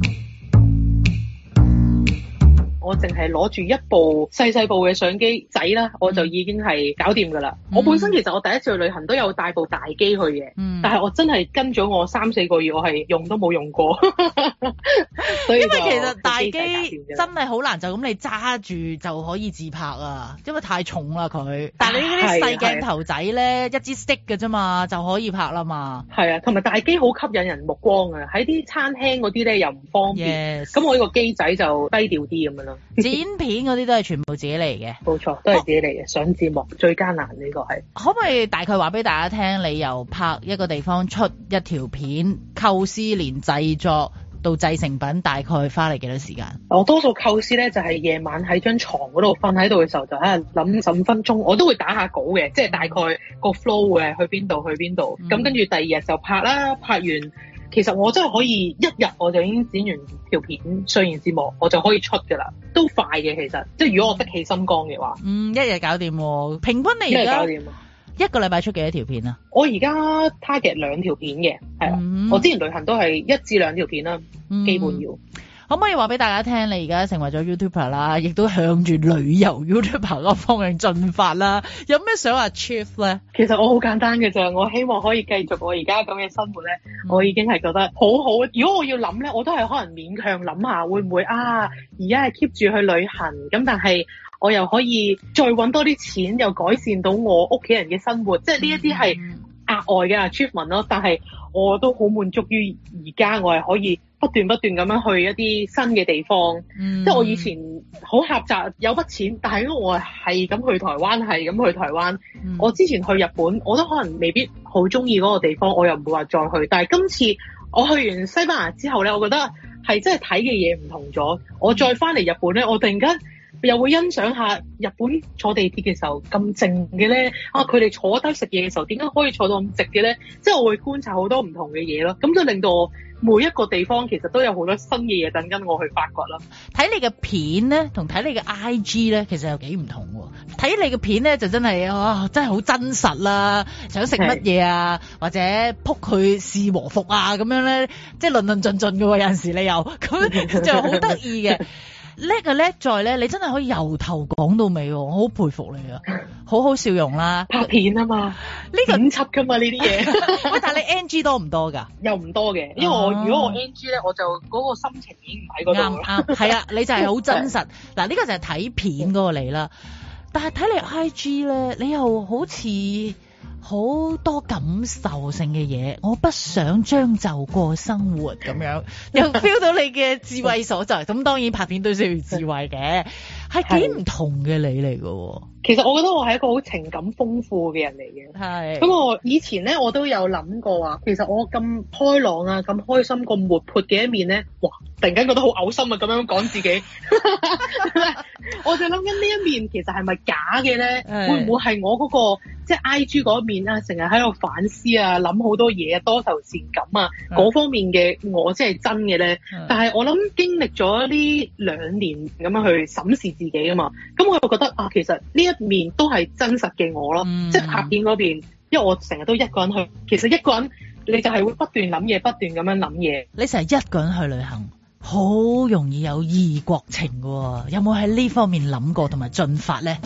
我淨係攞住一部細細部嘅相機仔啦，我就已經係搞掂㗎啦。我本身其實我第一次去旅行都有帶部大機去嘅、嗯，但係我真係跟咗我三四個月，我係用都冇用過。所以因為其實大機真係好難就咁你揸住就可以自拍啊，因為太重啦佢。但係你呢啲細鏡頭仔咧，一支 stick 嘅啫嘛，就可以拍啦嘛。係啊，同埋大機好吸引人目光啊！喺啲餐廳嗰啲咧又唔方便，咁、yes. 我呢個機仔就低調啲咁樣咯。剪片嗰啲都係全部自己嚟嘅，冇錯，都係自己嚟嘅。上節目最艱難呢個係，可唔可以大概話俾大家聽，你由拍一個地方出一條片，構思連製作到製成品，大概花嚟幾多時間？我多數構思咧就係夜晚喺張床嗰度瞓喺度嘅時候，就喺度諗十五分鐘，我都會打下稿嘅，即係大概個 flow 嘅去邊度去邊度，咁、嗯、跟住第二日就拍啦，拍完。其實我真係可以一日我就已經剪完條片，上完字幕我就可以出㗎啦，都快嘅其實。即係如果我得起心肝嘅話，嗯，一日搞掂喎。平均你而家一個禮拜出幾多條片啊？我而家 target 兩條片嘅，係啦、嗯。我之前旅行都係一至兩條片啦、嗯，基本要。可唔可以話俾大家聽，你而家成為咗 YouTuber 啦，亦都向住旅遊 YouTuber 嗰個方向進發啦。有咩想 achieve 咧？其實我好簡單嘅啫，我希望可以繼續我而家咁嘅生活咧、嗯。我已經係覺得好好。如果我要諗咧，我都係可能勉強諗下，會唔會啊？而家係 keep 住去旅行，咁但係我又可以再搵多啲錢，又改善到我屋企人嘅生活。即係呢一啲係額外嘅 achievement 咯。但係我都好滿足於而家我係可以不斷不斷咁樣去一啲新嘅地方，嗯、即係我以前好狹窄，有筆錢，但係因為我係咁去台灣，係咁去台灣、嗯。我之前去日本，我都可能未必好中意嗰個地方，我又唔會話再去。但係今次我去完西班牙之後咧，我覺得係真係睇嘅嘢唔同咗。我再翻嚟日本咧，我突然間又會欣賞下日本坐地鐵嘅時候咁靜嘅咧。啊，佢哋坐低食嘢嘅時候點解可以坐到咁直嘅咧？即係我會觀察好多唔同嘅嘢咯，咁就令到我每一個地方其實都有好多新嘅嘢等緊我去發掘啦。睇你嘅片咧，同睇你嘅 I G 咧，其實有幾唔同喎。睇你嘅片咧，就真係啊，真係好真實啦。想食乜嘢啊，或者撲佢試和服啊，咁樣咧，即係論論盡盡嘅喎。有陣時你又咁就好得意嘅。叻啊叻在咧，你真係可以由頭講到尾喎，我好佩服你啊！好好笑容啦，拍片啊嘛，呢、呢個剪輯㗎嘛呢啲嘢。喂，但係你 N G 多唔多㗎？又唔多嘅，因為我、哦、如果我 N G 咧，我就嗰個心情已經唔喺嗰度啦。啱啱係啊，你就係好真實。嗱，呢個就係睇片嗰個你啦。但係睇你 I G 咧，你又好似好多感受性嘅嘢，我不想將就過生活咁樣，又 feel 到你嘅智慧所在。咁當然拍片都需要智慧嘅，係幾唔同嘅你嚟嘅。其實我覺得我係一個好情感豐富嘅人嚟嘅。係。咁我以前咧，我都有諗過話，其實我咁開朗啊，咁開心、咁活潑嘅一面咧，哇！突然間覺得好嘔心啊，咁樣講自己。我就諗緊呢一面其實係咪假嘅咧？會唔會係我嗰、嗰個即係 I G 嗰一面啊？成日喺度反思啊，諗好多嘢啊，多愁善感啊，嗰方面嘅我先係真嘅咧。但係我諗經歷咗呢兩年咁樣去審視自己啊嘛，咁我就覺得啊，其實呢一面都係真實嘅我咯。嗯、即係拍片嗰邊，因為我成日都一個人去，其實一個人你就係會不斷諗嘢，不斷咁樣諗嘢。你成日一個人去旅行， 好容易有異國情喎，有冇喺呢方面諗過同埋進發咧？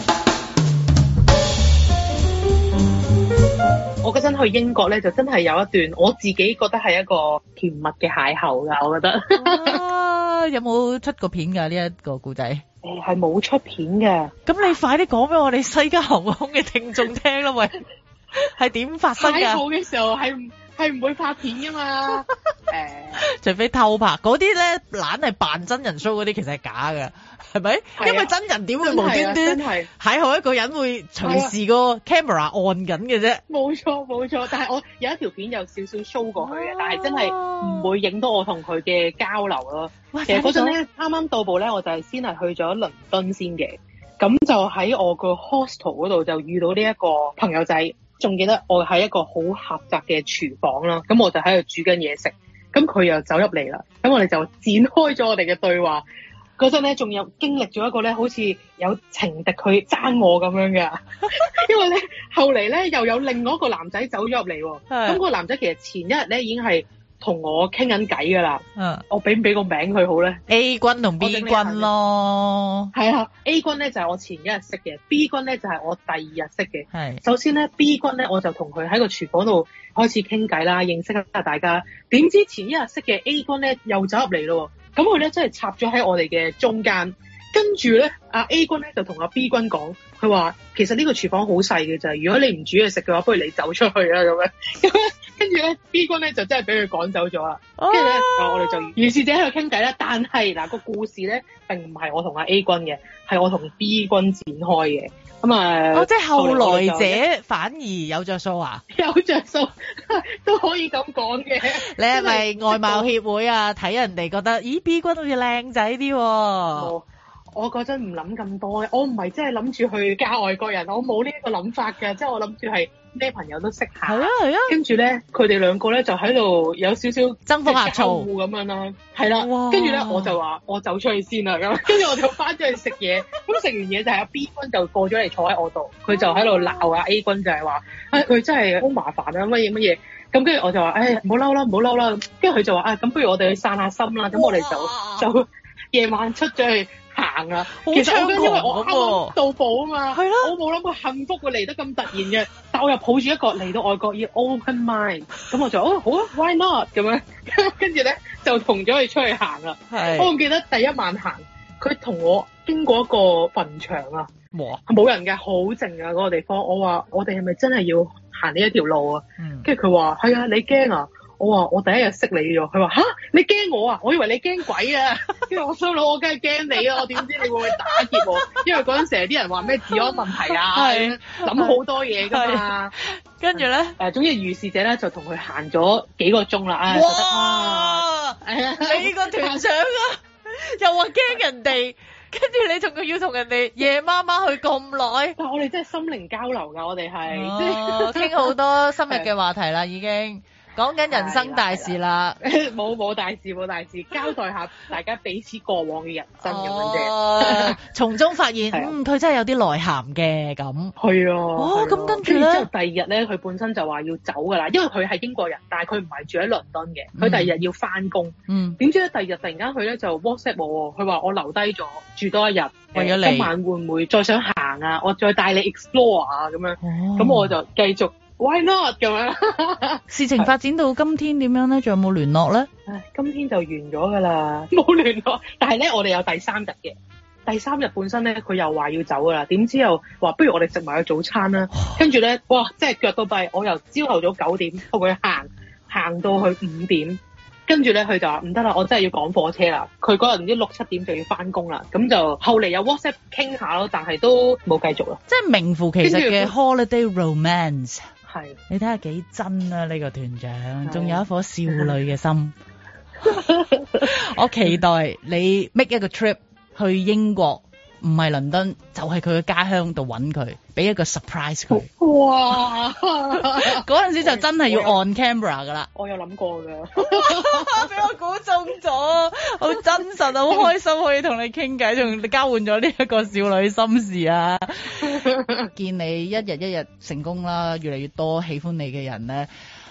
我嗰陣去英國咧，就真係有一段我自己覺得係一個甜蜜嘅邂逅㗎，我覺得。 啊，有冇出過片㗎呢一個故仔？ 誒係冇出片嘅。 咁你快啲講俾我哋西加航空嘅聽眾聽啦，喂，係點發生㗎？ 邂逅嘅時候係唔係唔會拍片㗎嘛？誒、呃， 除非偷拍嗰啲咧，懶係扮真人 show 嗰啲，其實係假㗎。係咪？啊、因為真人點會無端端邂逅一個人會隨時個 camera 按緊嘅啫？ 冇錯冇錯，但係我有一條片有少少 show 過去嘅，但係真係唔會影到我同佢嘅交流咯。其實嗰陣咧，啱啱到步咧，我就係先係去咗倫敦先嘅，咁就喺我個 hostel 嗰度就遇到呢一個朋友仔，仲記得我喺一個好狹窄嘅廚房啦，咁我就喺度煮緊嘢食，咁佢又走入嚟啦，咁我哋就展開咗我哋嘅對話。嗰陣咧，仲有經歷咗一個咧，好似有情敵佢爭我咁樣嘅，因為咧後嚟咧又有另外一個男仔走咗入嚟喎。咁個男仔其實前一日咧已經係同我傾緊偈㗎啦。嗯，我俾唔俾個名佢好咧 ？A 君同 B 君咯。 係啊 ，A 君咧就係我前一日識嘅 ，B 君咧就係我第二日識嘅。係。首先咧 ，B 君咧我就同佢喺個廚房度開始傾偈啦，認識下大家。點知前一日識嘅 A 君咧又走入嚟咯。咁佢咧真係插咗喺我哋嘅中間，跟住咧阿 A 君咧就同阿 B 君講，佢話其實呢個廚房好細嘅咋，如果你唔煮嘢食嘅話，不如你走出去啦咁樣。跟住咧 B 君咧就真係俾佢趕走咗啦。跟住咧我哋就如是者喺度傾偈啦。但係嗱個故事咧並唔係我同阿 A 君嘅，係我同 B 君展開嘅。咁啊， 哦，即係後來者反而有着數啊？ 有着數都可以咁講嘅。 你係咪外貌協會啊？睇人哋覺得，咦 B 君好似靚仔啲喎。 哦，我嗰陣唔諗咁多嘅，我唔係真係諗住去嫁外國人，我冇呢一個諗法嘅，即係我諗住係咩朋友都識下。係啊係啊。跟住咧，佢哋兩個咧就喺度有少少爭風呷醋咁樣啦。係啦。跟住咧，我就話我走出去先啦咁。跟住我就翻咗去食嘢。咁食完嘢就係阿 B 君就過咗嚟坐喺我度，佢就喺度鬧阿 A 君就係話，誒佢真係好麻煩啊乜嘢乜嘢。咁跟住我就話，誒唔好嬲啦唔好嬲啦。跟住佢就話，啊咁不如我哋去散下心啦。咁我哋就就夜晚出咗去行啊，其實我因為我啱啱到步啊嘛，係咯，我冇諗過幸福會嚟得咁突然嘅，但我又抱住一個嚟到外國要 open mind，咁我就哦好啊 ，why not 咁樣，跟住咧就同咗佢出去行啦。係，我仲記得第一晚行，佢同我經過一個墳場啊，冇人嘅，好靜啊嗰個地方。我話我哋係咪真係要行呢一條路啊？跟住佢話係啊，你驚啊？我話我第一日識你咗，佢話吓你驚我啊？我以為你驚鬼啊！跟住我心諗我梗係驚你啊！我點知你會唔會打劫我？因為嗰陣時啲人話咩治安問題啊，諗好多嘢噶嘛。跟住咧誒，總之如是者咧就同佢行咗幾個鐘啦。唉，覺得啊， 你個團長啊，又話驚人哋，跟住你仲要要同人哋夜媽媽去咁耐。 但係我哋真係心靈交流㗎，我哋係即係傾好多深入嘅話題啦，已經。講緊人生大事啦， 冇冇大事冇大事，交代下大家彼此過往嘅人生咁樣啫。 從中發現，嗯，佢真係有啲內涵嘅咁。 係啊。 哦，咁跟住咧， 之後第二日咧，佢本身就話要走噶啦，因為佢係英國人，但係佢唔係住喺倫敦嘅，佢第二日要翻工。嗯。點知咧，第二日突然間佢咧就 WhatsApp 我，佢話我留低咗住多一日，為咗你今晚會唔會再想行啊？我再帶你 explore 啊咁樣。哦。咁我就繼續。Why not 咁樣？ 事情發展到今天點樣咧？仲有冇聯絡咧？ 唉，今天就完咗㗎啦，冇聯絡。但係咧，我哋有第三日嘅。第三日本身咧，佢又話要走㗎啦。點知又話不如我哋食埋個早餐啦。跟住咧，哇！即係腳到跛。我由朝頭早九點同佢行，行到去五點。跟住咧，佢就話唔得啦，我真係要趕火車啦。佢嗰日唔知六七點就要翻工啦。咁就後嚟有 WhatsApp 傾下咯，但係都冇繼續啦。 即係名副其實嘅 holiday romance。 係， 你睇下幾真啊！呢、這個團長仲有一顆少女嘅心。我期待你 make 一個 trip 去英國，唔係倫敦，就係佢嘅家鄉度揾佢，俾一個 surprise 佢。哇！嗰陣時就真係要 on camera 噶啦。 我有諗過㗎， 俾我估中咗，好真實啊！好開心可以同你傾偈，仲交換咗呢一個少女心事啊！見你一日一日成功啦，越嚟越多喜歡你嘅人咧，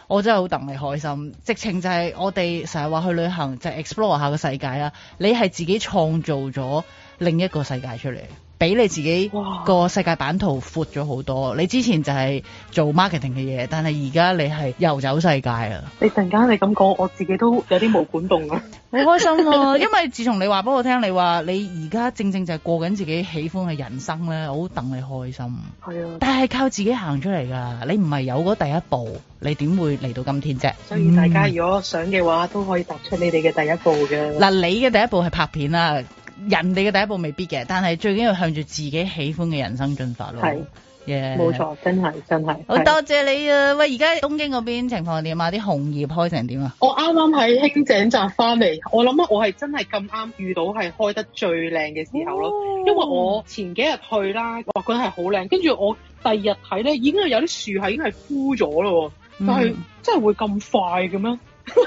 我真係好戥你開心。直情就係我哋成日話去旅行就係 explore 下個世界啦，你係自己創造咗另一個世界出嚟，俾你自己個世界版圖闊咗好多。你之前就係做 marketing 嘅嘢，但係而家你係遊走世界啊！ 你突然間你咁講，我自己都有啲毛管動啊！ 好開心啊！因為自從你話俾我聽，你話你而家正正就係過緊自己喜歡嘅人生咧，我好戥你開心。係啊，但係靠自己行出嚟㗎，你唔係有嗰第一步，你點會嚟到今天啫？ 所以大家如果想嘅話，嗯、都可以踏出你哋嘅第一步嘅。 嗱，你嘅第一步係拍片啦，人哋嘅第一步未必嘅，但係最緊要向住自己喜歡嘅人生進發咯。係。 Yeah. 冇錯，真係真係好多謝你啊！喂，而家東京嗰邊情況係點啊？啲紅葉開成點啊？ 我啱啱喺輕井澤翻嚟，我諗我係真係咁啱遇到係開得最靚嘅時候咯。哦、因為我前幾日去啦，我覺得係好靚，跟住我第二日睇咧，已經係有啲樹係已經係枯咗咯。但係真係會咁快嘅咩？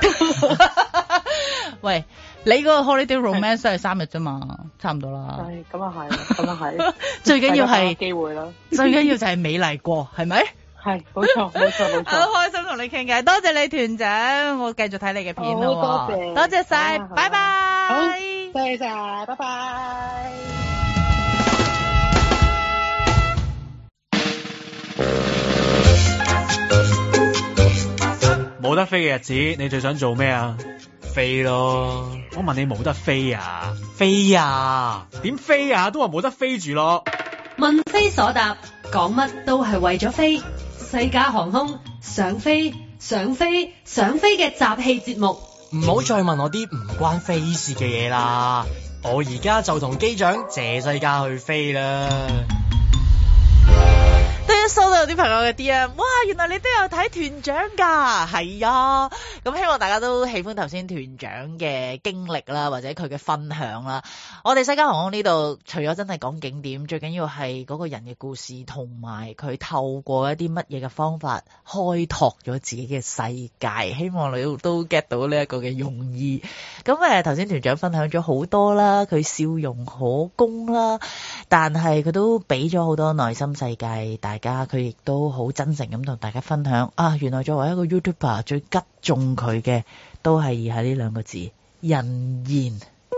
喂，你嗰個 holiday romance 都係三日啫嘛，差唔多啦。係，咁啊係，咁啊係。最緊要係機會啦，最緊要就係美麗過，係咪？係，冇錯，冇錯，冇錯。好開心同你傾偈，多謝你團長，我繼續睇你嘅片咯。好，多謝，多謝晒，拜拜。好，多謝晒，拜拜。 冇得飛嘅日子，你最想做咩啊？飛咯！我問你冇得飛啊？飛啊？點飛啊？都話冇得飛住咯。 問非所答，講乜都係為咗飛。西加航空想飛想飛想飛嘅集氣節目。 唔好再問我啲唔關飛事嘅嘢啦，我而家就同機長謝西加去飛啦。 都一收到有啲朋友嘅 D M， 哇！原來你都有睇團長㗎，係啊！咁希望大家都喜歡頭先團長嘅經歷啦，或者佢嘅分享啦。我哋西加航空呢度除咗真係講景點，最緊要係嗰個人嘅故事，同埋佢透過一啲乜嘢嘅方法開拓咗自己嘅世界。希望你都 get 到呢一個嘅用意。咁誒頭先團長分享咗好多啦，佢笑容可掬啦，但係佢都俾咗好多內心世界大家，佢亦都好真誠咁同大家分享啊！原來作為一個 YouTuber 最擊中佢嘅都係以下呢兩個字：人言。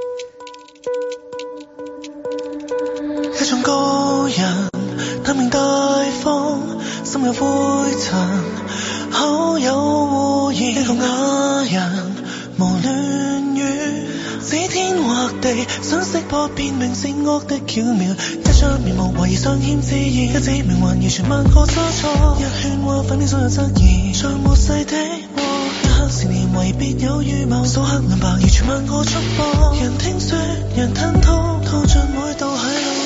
一種高人，坦明大方，心有灰塵，口有污言。一個啞人，無亂語，指天畫地，想識破辨明善惡的巧妙。一張面目懷疑尚欠自然，一指命運完全萬個差錯。一勸話反面所有質疑，像末世的禍。一刻成年為別有預謀，數刻兩百完全萬個束縛。人聽說，人吞吐，套盡每道海路。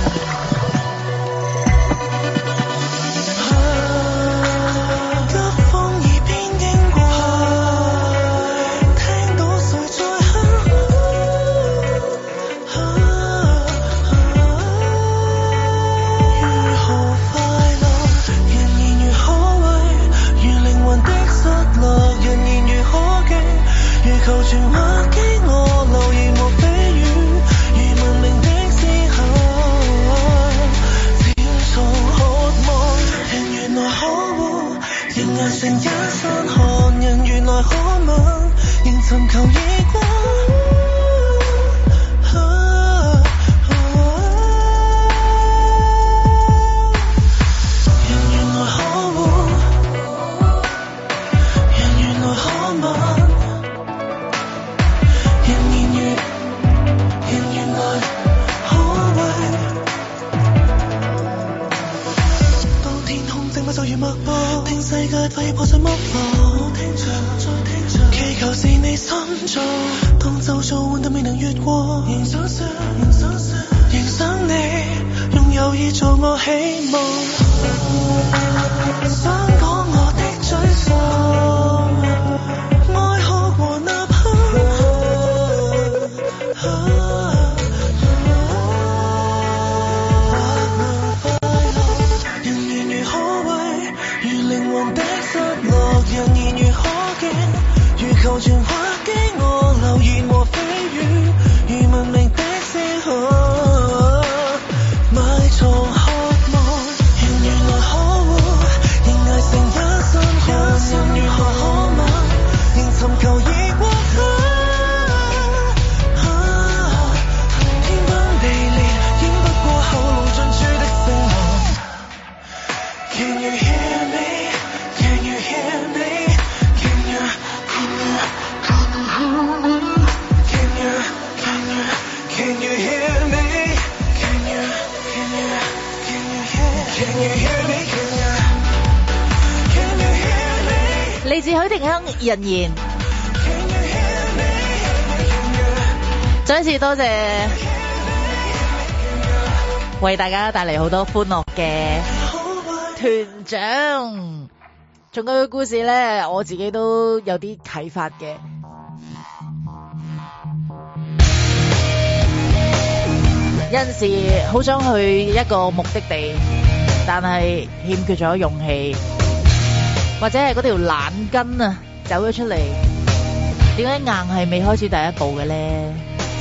求全話給我留言和蜚語，如文明的思考，漸從渴望。人原來可惡，人人成一身汗，人原來可吻，仍尋求異光。人原來可惡，人原來可吻。就如脈搏，聽世界快破碎剝落，聽着再聽着，祈求是你心造，當周遭換得未能越過，仍想說，仍想說，仍想你，用友誼做我希望，想講我的沮喪，愛哭和吶喊。人言如可敬，如求全話給我留言和蜚語，如文明的思考，埋藏渴望。人原來 you hear me? Can you hear me? Can you, can you, can you hear me? Can you, can you, can you hear me? Can you, can you, can you hear? Can you hear me? Can you, can you hear me? 嚟自許廷鏗人言，再一次多謝為大家帶嚟好多歡樂嘅團長。仲有個故事咧，我自己都有啲啟發嘅。有陣時好想去一個目的地，但係欠缺咗勇氣，或者係嗰條懶筋啊走咗出嚟，點解硬係未開始第一步嘅咧？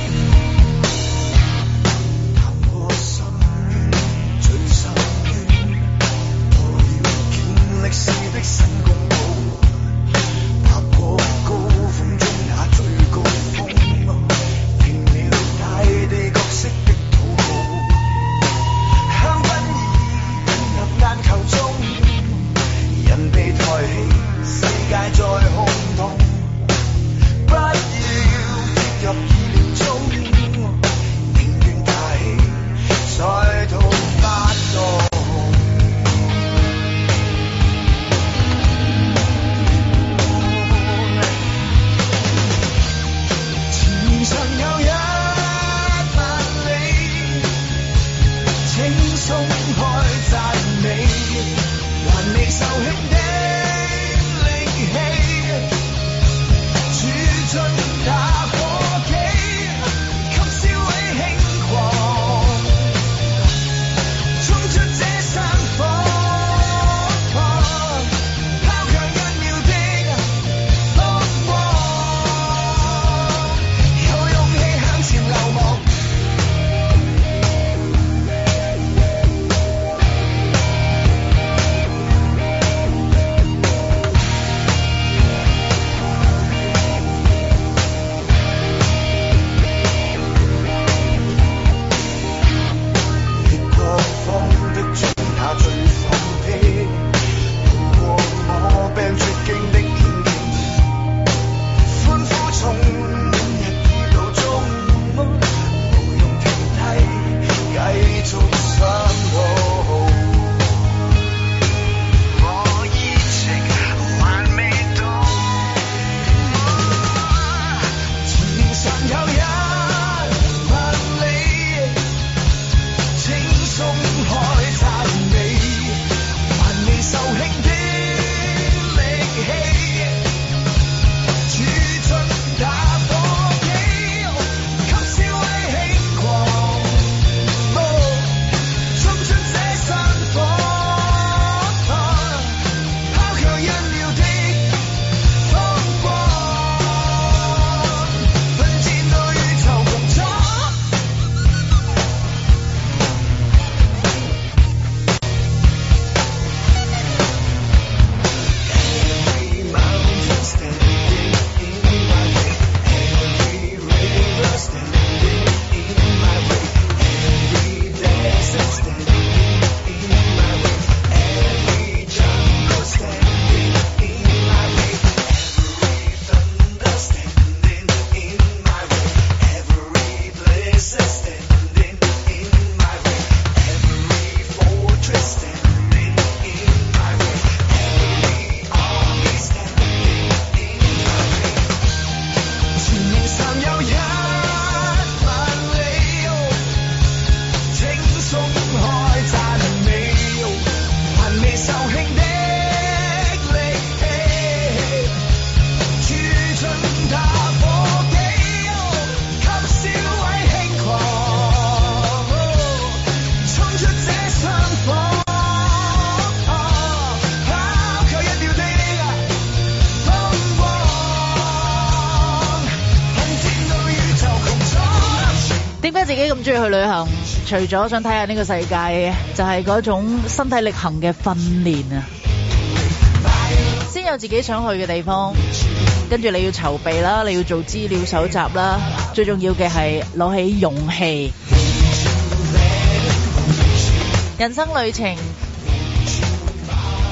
自己咁中意去旅行，除咗想睇下呢個世界，就係嗰種身體力行嘅訓練啊！先有自己想去嘅地方，跟住你要籌備啦，你要做資料搜集啦，最重要嘅係攞起勇氣。人生旅程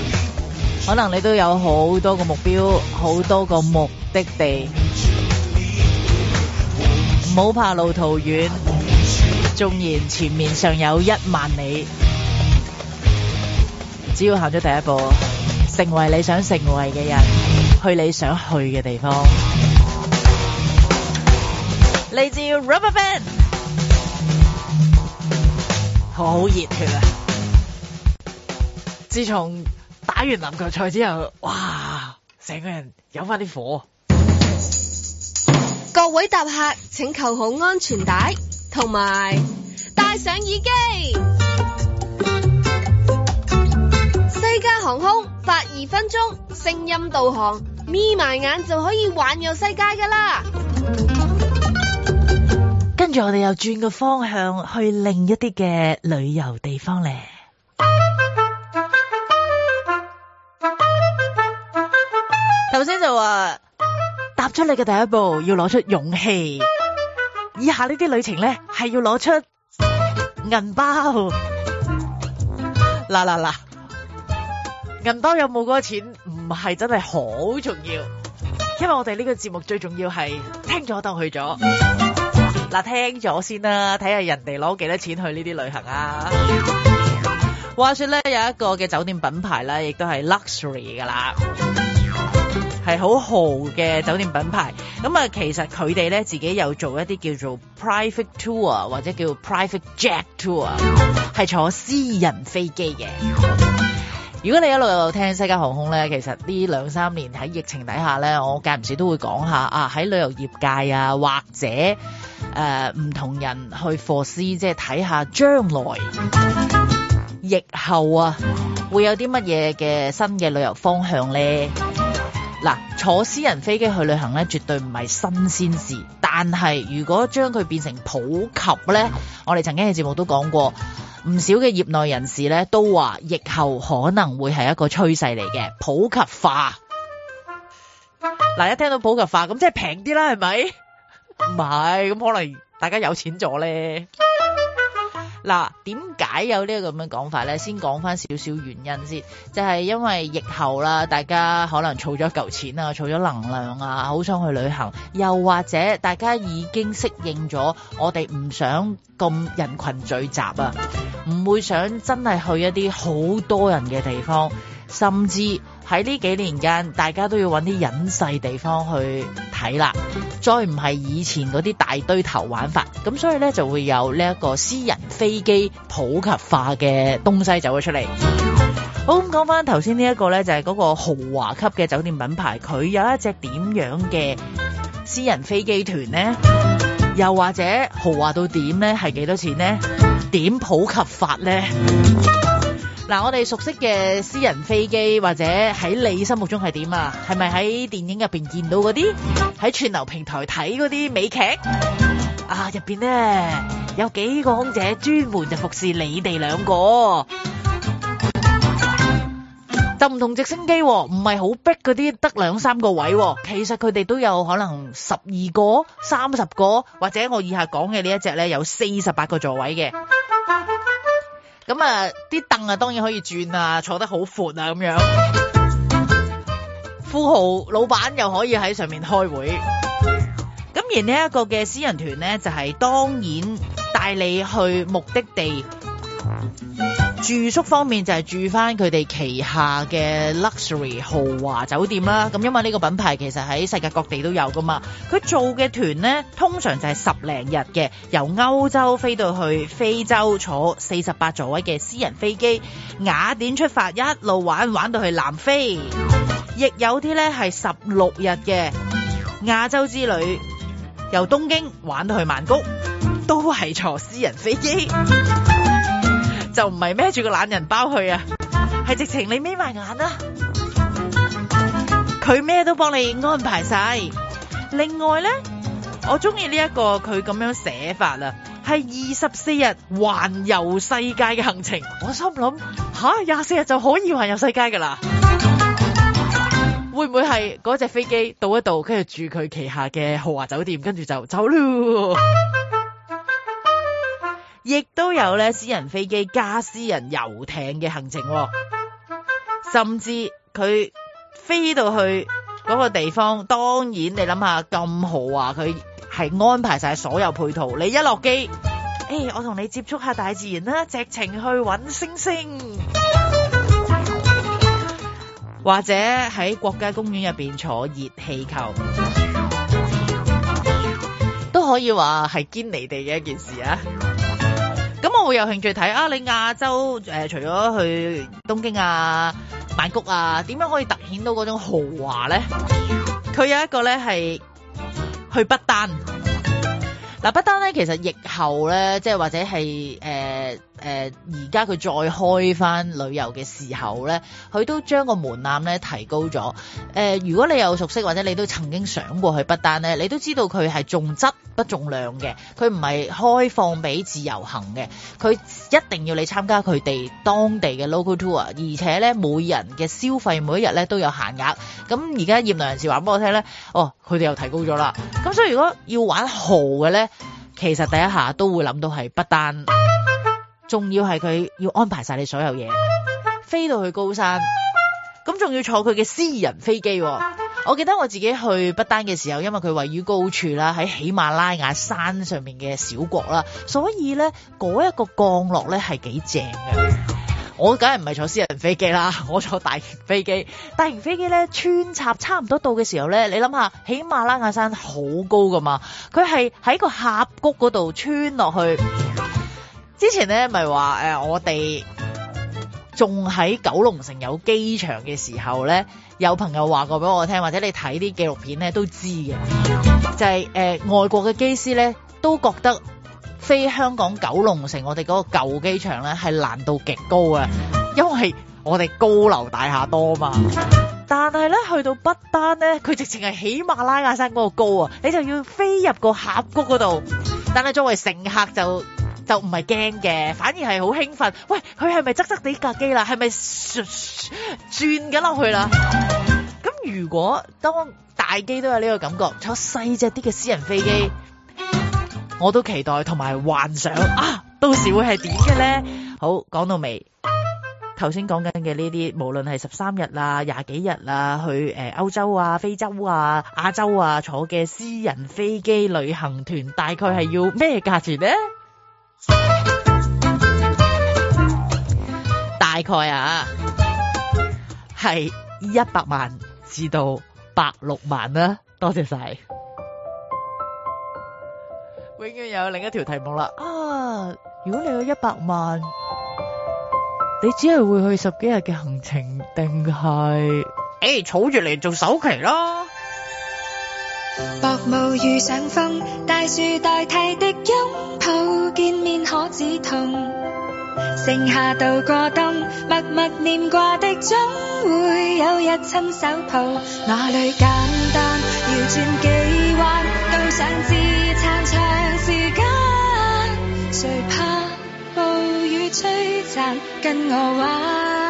可能你都有好多個目標，好多個目的地，唔好怕路途遠，縱然前面尚有一萬里，只要行咗第一步，成為你想成為嘅人，去你想去嘅地方。嚟自 Rubberband， 好熱血啊！自從打完籃球賽之後，哇，成個人有翻啲火。 各位搭客請扣好安全帶，同埋戴上耳機。西加航空發二分鐘聲音導航，眯埋眼就可以環遊世界噶啦。 跟住我哋又轉個方向去另一啲嘅旅遊地方咧。頭先就話踏出你嘅第一步要攞出勇氣，以下呢啲旅程咧係要攞出銀包。嗱嗱嗱，銀包有冇嗰個錢唔係真係好重要，因為我哋呢個節目最重要係聽咗當去咗。嗱，聽咗先啦，睇下人哋攞幾多錢去呢啲旅行啊。話說咧，有一個嘅酒店品牌咧，亦都係 luxury 噶啦，係好豪嘅酒店品牌。咁啊，其實佢哋咧自己有做一啲叫做 private tour 或者叫 private jet tour， 係坐私人飛機嘅。如果你一路有聽西加航空咧，其實呢兩三年喺疫情底下咧，我間唔時都會講下啊，喺旅遊業界啊，或者誒唔、呃、同人去 foresee， 即係睇下將來疫後啊，會有啲乜嘢嘅新嘅旅遊方向咧。嗱，坐私人飛機去旅行咧，絕對唔係新鮮事。但係如果將佢變成普及咧，我哋曾經喺節目都講過，唔少嘅業內人士咧都話，疫後可能會係一個趨勢嚟嘅普及化。嗱，一聽到普及化，咁即係平啲啦，係咪？唔係，咁可能大家有錢咗咧。嗱，點解有呢個咁嘅講法咧？先講翻少少原因先，就係因為疫後啦，大家可能儲咗嚿錢啊，儲咗能量啊，好想去旅行，又或者大家已經適應咗，我哋唔想咁人群聚集啊，唔會想真係去一啲好多人嘅地方，甚至喺呢幾年間，大家都要揾啲隱世地方去睇啦，再唔係以前嗰啲大堆頭玩法，咁所以呢，就會有呢一個私人飛機普及化嘅東西走咗出嚟。好，咁講翻頭先呢一個呢，就係嗰個豪華級嘅酒店品牌，佢有一隻點樣嘅私人飛機團呢？又或者豪華到點呢？係幾多錢呢？點普及法呢？嗱，我哋熟悉嘅私人飛機，或者喺你心目中係點啊？係咪喺電影入邊見到嗰啲，喺串流平台睇嗰啲美劇啊？入邊咧有幾個空姐專門就服侍你哋兩個，就唔同直升機，唔係好逼嗰啲得兩三個位，其實佢哋都有可能十二個、三十個，或者我以下講嘅呢一隻咧有四十八個座位嘅。咁啊，啲凳啊，當然可以轉啊，坐得好闊啊，咁樣。富豪老闆又可以喺上面開會。咁而呢一個嘅私人團呢，就係、是、當然帶你去目的地。住宿方面就係住翻佢哋旗下嘅 luxury 豪華酒店啦。咁因為呢個品牌其實喺世界各地都有噶嘛，佢做嘅團呢，通常就係十零日嘅，由歐洲飛到去非洲，坐四十八座位嘅私人飛機，雅典出發，一路玩玩到去南非。亦有啲呢係十六日嘅亞洲之旅，由東京玩到去曼谷，都係坐私人飛機。就唔係孭住個懶人包去啊，係直情你眯埋眼啊，佢咩都幫你安排晒。另外呢，我中意呢一個佢咁樣寫法啦，係二十四日環遊世界嘅行程。我心諗吓，廿四日就可以環遊世界噶啦，會唔會係嗰隻飛機到一度，跟住住佢旗下嘅豪華酒店，跟住就走咯？亦都有咧私人飛機加私人遊艇嘅行程，甚至佢飛到去嗰個地方，當然你諗下咁豪華，佢係安排晒所有配套。你一落機，誒、欸，我同你接觸下大自然啦，直情去搵星星，或者喺國家公園入邊坐熱氣球，都可以話係堅離地嘅一件事啊！咁我會有興趣睇啊，你亞洲誒、呃，除咗去東京啊、曼谷啊，點樣可以突顯到嗰種豪華咧？佢有一個咧係去不丹。嗱，不丹咧其實疫後咧，即係或者係誒誒，而家佢再開翻旅遊嘅時候咧，佢都將個門檻咧提高咗。誒、呃，如果你有熟悉或者你都曾經想過去不丹咧，你都知道佢係重質不重量嘅，佢唔係開放俾自由行嘅，佢一定要你參加佢哋當地嘅 local tour，而且咧每人嘅消費每一日咧都有限額。咁而家業內人士話俾我聽咧，哦，佢哋又提高咗啦。咁所以如果要玩豪嘅咧，其實第一下都會諗到係不丹，仲要係佢要安排晒你所有嘢，飛到去高山，咁仲要坐佢嘅私人飛機。我記得我自己去不丹嘅時候，因為佢位於高處啦，喺喜馬拉雅山上面嘅小國啦，所以咧嗰一個降落咧係幾正嘅。我梗係唔係坐私人飛機啦，我坐大型飛機。大型飛機咧穿插差唔多到嘅時候咧，你諗下喜馬拉雅山好高噶嘛，佢係喺個峽谷嗰度穿落去。之前咧咪話誒我哋仲喺九龍城有機場嘅時候咧，有朋友話過俾我聽，或者你睇啲紀錄片咧都知嘅，就係、是、誒、呃、外國嘅機師咧都覺得飛香港九龍城我哋嗰個舊機場咧係難度極高啊，因為我哋高樓大廈多嘛。但係咧去到不丹咧，佢直情係喜馬拉雅山嗰個高啊，你就要飛入個峽谷嗰度。但係作為乘客就就唔係驚嘅，反而係好興奮。喂，佢係咪側側地架機啦？係咪轉緊落去啦？咁如果當大機都有呢個感覺，坐細隻啲嘅私人飛機，我都期待同埋幻想啊，到時會係點嘅咧？好，講到尾，頭先講緊嘅呢啲，無論係十三日啊、廿幾日啊，去誒歐洲啊、非洲啊、亞洲啊坐嘅私人飛機旅行團，大概係要咩價錢咧？大概啊，係一百萬至到百六萬啦。多謝晒。永遠有另一條題目啦。啊，如果你有一百萬，你只係會去十幾日嘅行程，定係誒儲住嚟做首期咯？ 薄霧遇上風，大樹代替的擁抱，見面可止痛。盛夏度過冬，默默念掛的總會有日親手抱。哪裏簡單，要轉幾彎，都想自殘長時間。誰怕暴雨摧殘，跟我玩。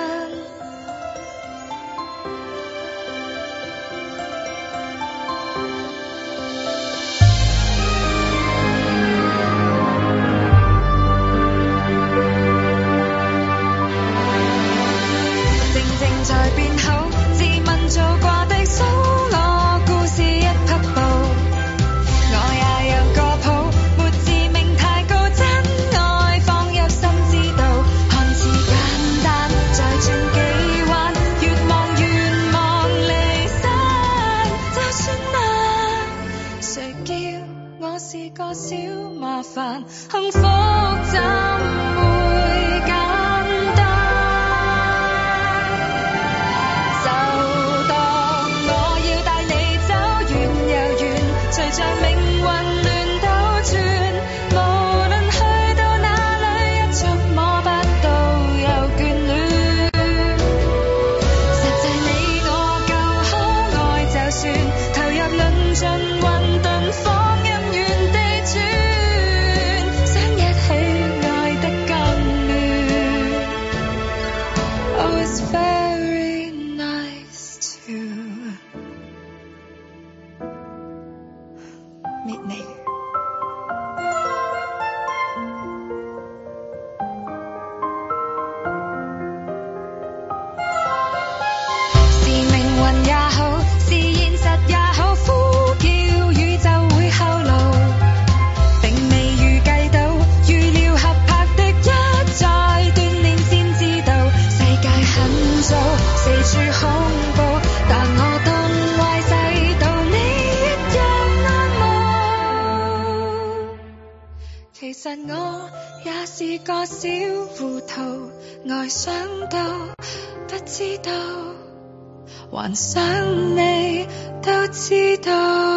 在變好，自問做過的數我故事一匹布，我也有個譜，沒自命太高，真愛放入心知道，看似簡單，再轉幾彎，越望越望離散，就算難，誰叫我是個小麻煩，幸福怎會簡單？像命運亂倒轉，無論去到哪裡，一觸摸不到又眷戀。實際你我夠可愛，就算投入論盡混沌，放任原地轉，想一運也好，是現實也好，呼叫宇宙會後路，並未預計到，預料合拍的一再鍛鍊先知道，世界很糟，四處恐怖，但我東歪西倒，你一樣安慕。其實我也是個小糊塗，愛上到不知道，還想你都知道。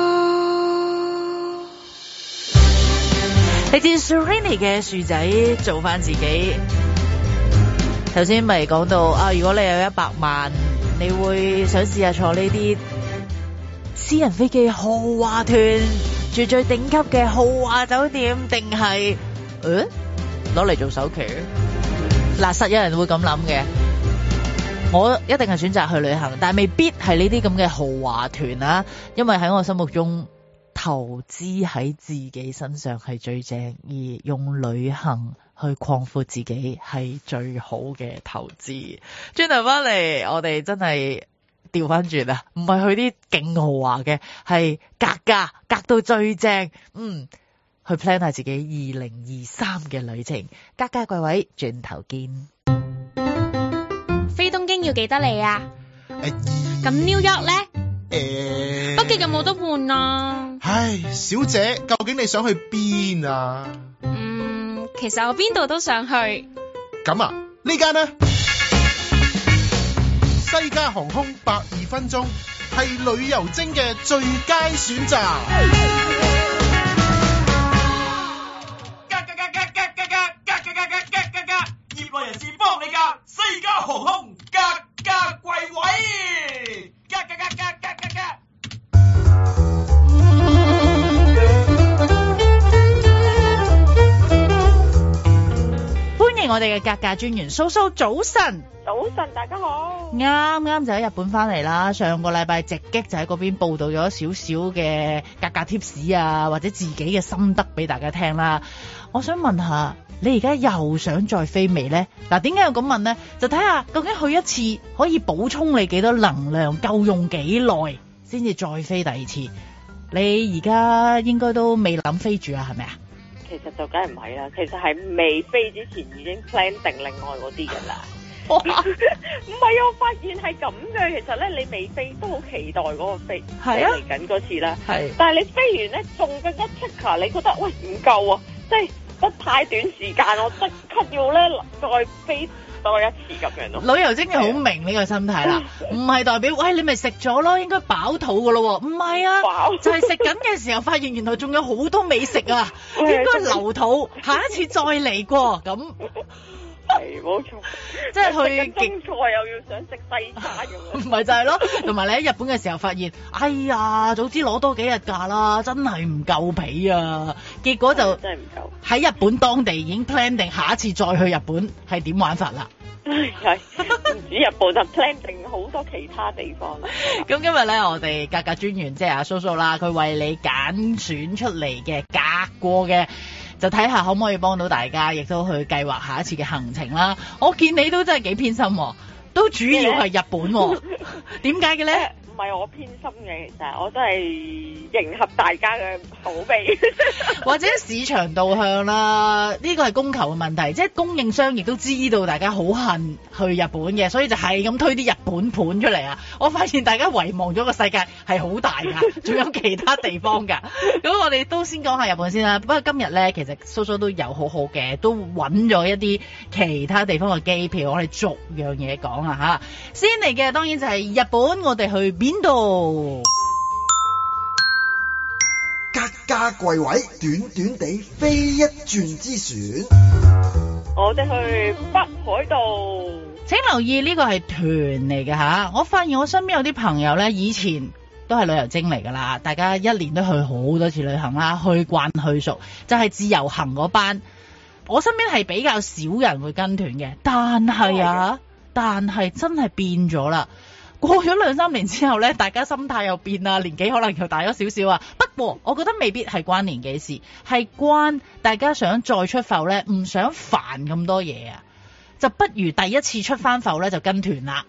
嚟自 Serrini 嘅樹仔做返自己。頭先咪講到啊，如果你有一百萬，你會想試下坐呢啲私人飛機豪華團，住最頂級嘅豪華酒店，定係誒攞嚟做首期？嗱，實有人會咁諗嘅。我一定係選擇去旅行，但係未必係呢啲咁嘅豪華團啊，因為喺我心目中，投資喺自己身上係最正，而用旅行去擴闊自己係最好嘅投資。轉頭翻嚟，我哋真係調翻轉啊，唔係去啲勁豪華嘅，係格價格到最正，嗯，去 plan 下自己二零二三嘅旅程。格價貴位，轉頭見。 飛東京要幾多里啊？咁 New York 咧？誒，北極有冇得換啊？ 唉，小姐，究竟你想去邊啊？ 嗯，其實我邊度都想去。 咁啊，呢間呢？西加航空百二分鐘係旅遊精嘅最佳選擇。 格格格格格格格格格格格格，業內人士幫你格，西加航空格價貴位。格格格格格格格。 歡迎我哋嘅格價專員蘇蘇，早晨。 早晨，大家好。 啱啱就喺日本翻嚟啦，上個禮拜直擊就喺嗰邊報道咗少少嘅格價貼士啊，或者自己嘅心得俾大家聽啦。我想問下，你而家又想再飛未呢？嗱，點解要咁問呢？就睇下究竟去一次可以補充你幾多能量，夠用幾耐先至再飛第二次。你而家應該都未諗飛住啊，係咪啊？ 其實就梗係唔係啦，其實係未飛之前已經 plan 定另外嗰啲㗎啦。唔係啊，我發現係咁嘅。其實咧，你未飛都好期待嗰個飛，係啊，嚟緊嗰次啦。係，但係你飛完咧，仲更加 check，你覺得喂唔夠啊，即係得太短時間，我即刻要咧再飛多一次咁樣咯。 旅遊精係好明呢個心態啦，唔係代表喂你咪食咗咯，應該飽肚噶咯喎，唔係啊，就係食緊嘅時候發現原來仲有好多美食啊，應該留肚，下一次再嚟過咁。 係冇錯， 即係去中菜又要想食西餐咁樣， 唔係就係咯。同埋你喺日本嘅時候發現，哎呀，早知攞多幾日假啦，真係唔夠皮啊！結果就真係唔夠喺日本當地已經 plan 定下一次再去日本係點玩法啦。 係唔止日本就 plan 定好多其他地方啦。 咁今日咧，我哋格價專員即係阿蘇蘇啦，佢為你揀選出嚟嘅格過嘅。就睇下可唔可以幫到大家，亦都去計劃下一次嘅行程啦。我見你都真係幾偏心，都主要係日本。點解嘅咧？ 唔係我偏心嘅，其實我都係迎合大家嘅口味， 或者市場導向啦。呢個係供求嘅問題，即係供應商亦都知道大家好恨去日本嘅，所以就係咁推啲日本盤出嚟啊！我發現大家遺忘咗個世界係好大㗎，仲有其他地方㗎。咁我哋都先講下日本先啦。不過今日咧，其實蘇蘇都有好好嘅，都揾咗一啲其他地方嘅機票，我哋逐樣嘢講啊嚇。先嚟嘅當然就係日本，我哋去邊度？ 格價貴位，短短地飛一轉之船。 我哋去北海道。 請留意呢個係團嚟嘅嚇。我發現我身邊有啲朋友咧，以前都係旅遊精嚟㗎啦，大家一年都去好多次旅行啦，去慣去熟，就係、是、自由行嗰班。我身邊係比較少人會跟團嘅，但係啊，但係真係變咗啦。過咗兩三年之後咧，大家心態又變啦，年紀可能又大咗少少啊。不過我覺得未必係關年紀事，係關大家想再出埠咧，唔想煩咁多嘢啊，就不如第一次出翻埠咧就跟團啦。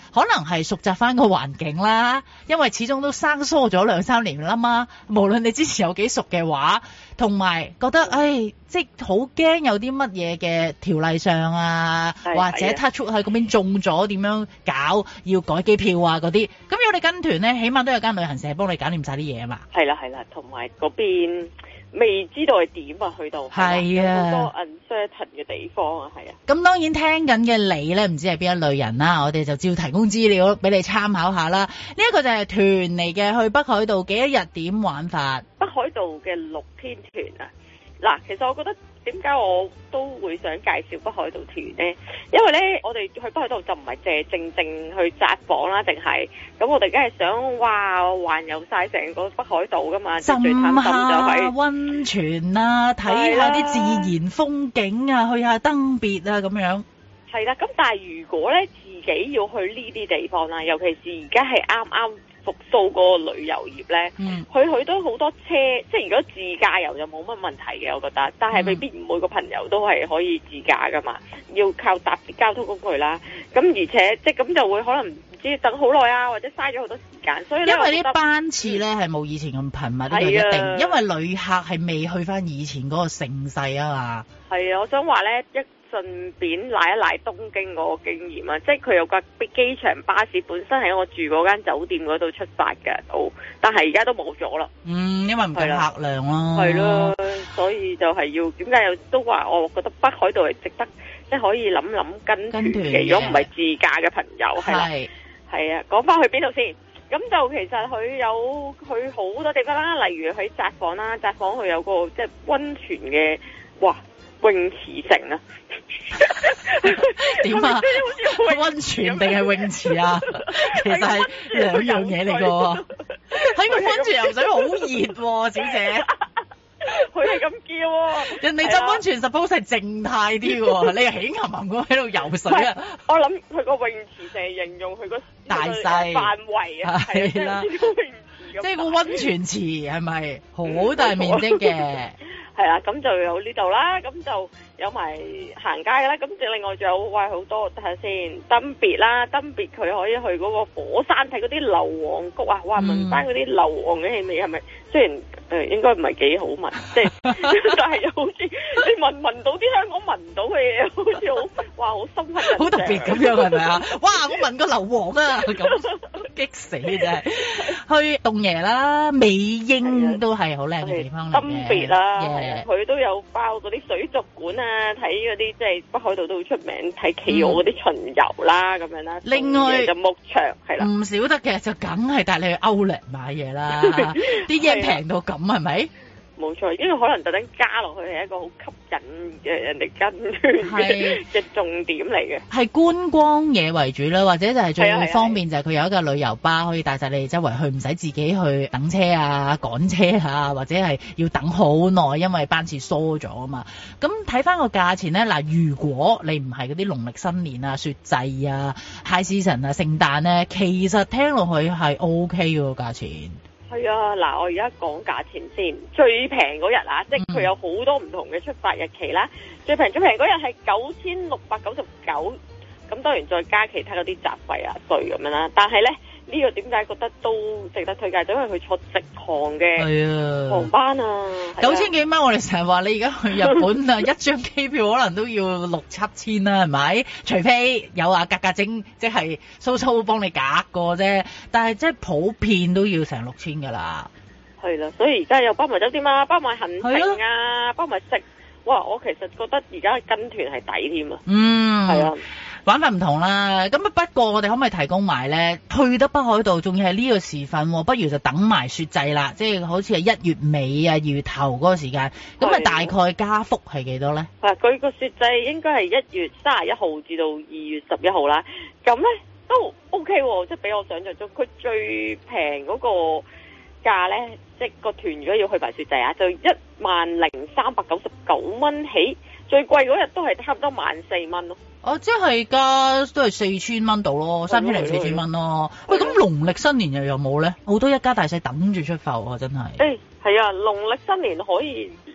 可能係熟習翻個環境啦，因為始終都生疏咗兩三年啦嘛。無論你之前有幾熟嘅話，同埋覺得唉，即係好驚有啲乜嘢嘅條例上啊，或者 touch 喺嗰邊中咗點樣搞，要改機票啊嗰啲。咁如果你跟團咧，起碼都有間旅行社幫你搞掂晒啲嘢啊嘛。 係啦係啦，同埋嗰邊未知道係點啊，去到係啊，好多 uncertain 嘅地方啊，係啊。咁當然聽緊嘅你咧，唔知係邊一類人啦，我哋就照提供資料俾你參考下啦。呢、這、一個就係團嚟嘅，去北海道幾多日點玩法？北海道嘅六天團啊！嗱，其實我覺得點解我都會想介紹北海道團呢？因為咧，我哋去北海道就唔係淨係正正去札幌啦，定係咁我哋梗係想哇環遊晒成個北海道噶嘛，浸最貪心就係溫泉啊，睇下啲自然風景啊，去下登別啊咁樣。係啦，咁但係如果咧自己要去呢啲地方啦，尤其是而家係啱啱復甦嗰個旅遊業咧，嗯、去去都好多車，即係如果自駕遊就冇乜問題嘅，我覺得。但係未必每個朋友都係可以自駕噶嘛，要靠搭啲交通工具啦。咁而且即係咁就會可能唔知等好耐啊，或者嘥咗好多時間。所以因為啲班次咧係冇以前咁頻密，呢個一定，因為旅客係未去翻以前嗰個盛世啊嘛。係啊，我想話咧一。順便賴一賴東京嗰個經驗啊，即係佢有個機場巴士本身喺我住嗰間酒店嗰度出發嘅，都但係而家都冇咗啦。嗯，因為唔夠客量咯。係咯，所以就係要點解又都話，我覺得北海道係值得，即係可以諗諗跟團嘅。如果唔係自駕嘅朋友，係啦，係啊，講翻去邊度先？咁就其實佢有去好多地方啦，例如喺札幌啦，札幌佢有個即係溫泉嘅，哇！泳池城啊？點啊？溫泉定係泳池啊？其實係兩樣嘢嚟㗎。喺個溫泉游水好熱喎，小姐。佢係咁叫喎。人哋浸溫泉 suppose 係靜態啲喎，你又起冚冚咁喺度游水啊？我諗佢個泳池就係形容佢個大細範圍啊，係啦。即係個溫泉池係咪好大面積嘅？係啦，咁就有呢度啦，咁就有埋行街啦，咁就另外仲有哇好多睇下先，登別啦，登別佢可以去嗰個火山睇嗰啲硫磺谷啊，哇聞翻嗰啲硫磺嘅氣味係咪？雖然誒、呃、應該唔係幾好聞，即係但係又好似你聞聞到啲香港聞到嘅嘢，好似好哇好深刻，好特別咁樣係咪啊？哇！我聞個硫磺啊，咁激死嘅真係。去洞爺啦，美瑛都係好靚嘅地方嚟嘅。登別啦，佢、yeah. 都有包嗰啲水族館啊，睇嗰啲即係北海道都好出名睇企鵝嗰啲巡遊啦，咁、嗯、樣啦。另外就牧場係啦，唔少得嘅就梗係帶你去歐力買嘢啦，啲嘢平到咁係咪？冇錯，因為可能特登加落去係一個好吸引嘅人哋跟團嘅嘅重點嚟嘅。係觀光嘢為主啦，或者就係最方便就係佢有一個旅遊巴可以帶晒你哋周圍去，唔使自己去等車啊、趕車啊，或者係要等好耐，因為班次疏咗啊嘛。咁睇翻個價錢咧，嗱，如果你唔係嗰啲農曆新年啊、雪祭啊、High Season 啊、聖誕咧，其實聽落去係 O K 嘅個價錢。係啊，嗱，我而家講價錢先，最平嗰日啊，即係佢有好多唔同嘅出發日期啦。最平最平嗰日係九千六百九十九，咁當然再加其他嗰啲雜費啊、稅咁樣啦。但係咧，呢個點解覺得都值得推介？就因為佢坐直航嘅航班啊，九千幾蚊。我哋成日話你而家去日本啊，一張機票可能都要六七千啦，係咪？除非有啊格格精，即係蘇蘇幫你隔過啫。但係即係普遍都要成六千噶啦。係啦，所以而家又包埋酒店啊，包埋行程啊，包埋食。哇！我其實覺得而家跟團係抵添啊。嗯，係啊。玩法唔同啦，咁啊不過我哋可唔可以提供埋咧？去得北海道仲要係呢個時份，不如就等埋雪祭啦，即係好似係一月尾啊、二月頭嗰個時間。咁啊大概加幅係幾多咧？嗱，佢個雪祭應該係一月三十一號至到二月十一號啦。咁咧都 OK 喎，即係比我想象中，佢最平嗰個價咧，即係個團如果要去埋雪祭啊，就一萬零三百九十九蚊起，最貴嗰日都係差唔多萬四蚊咯。哦，即係加都係四千蚊度咯，三千零四千蚊咯。喂，咁農曆新年又有冇咧？好多一家大細等住出埠啊，真係。誒、欸，係啊，農曆新年可以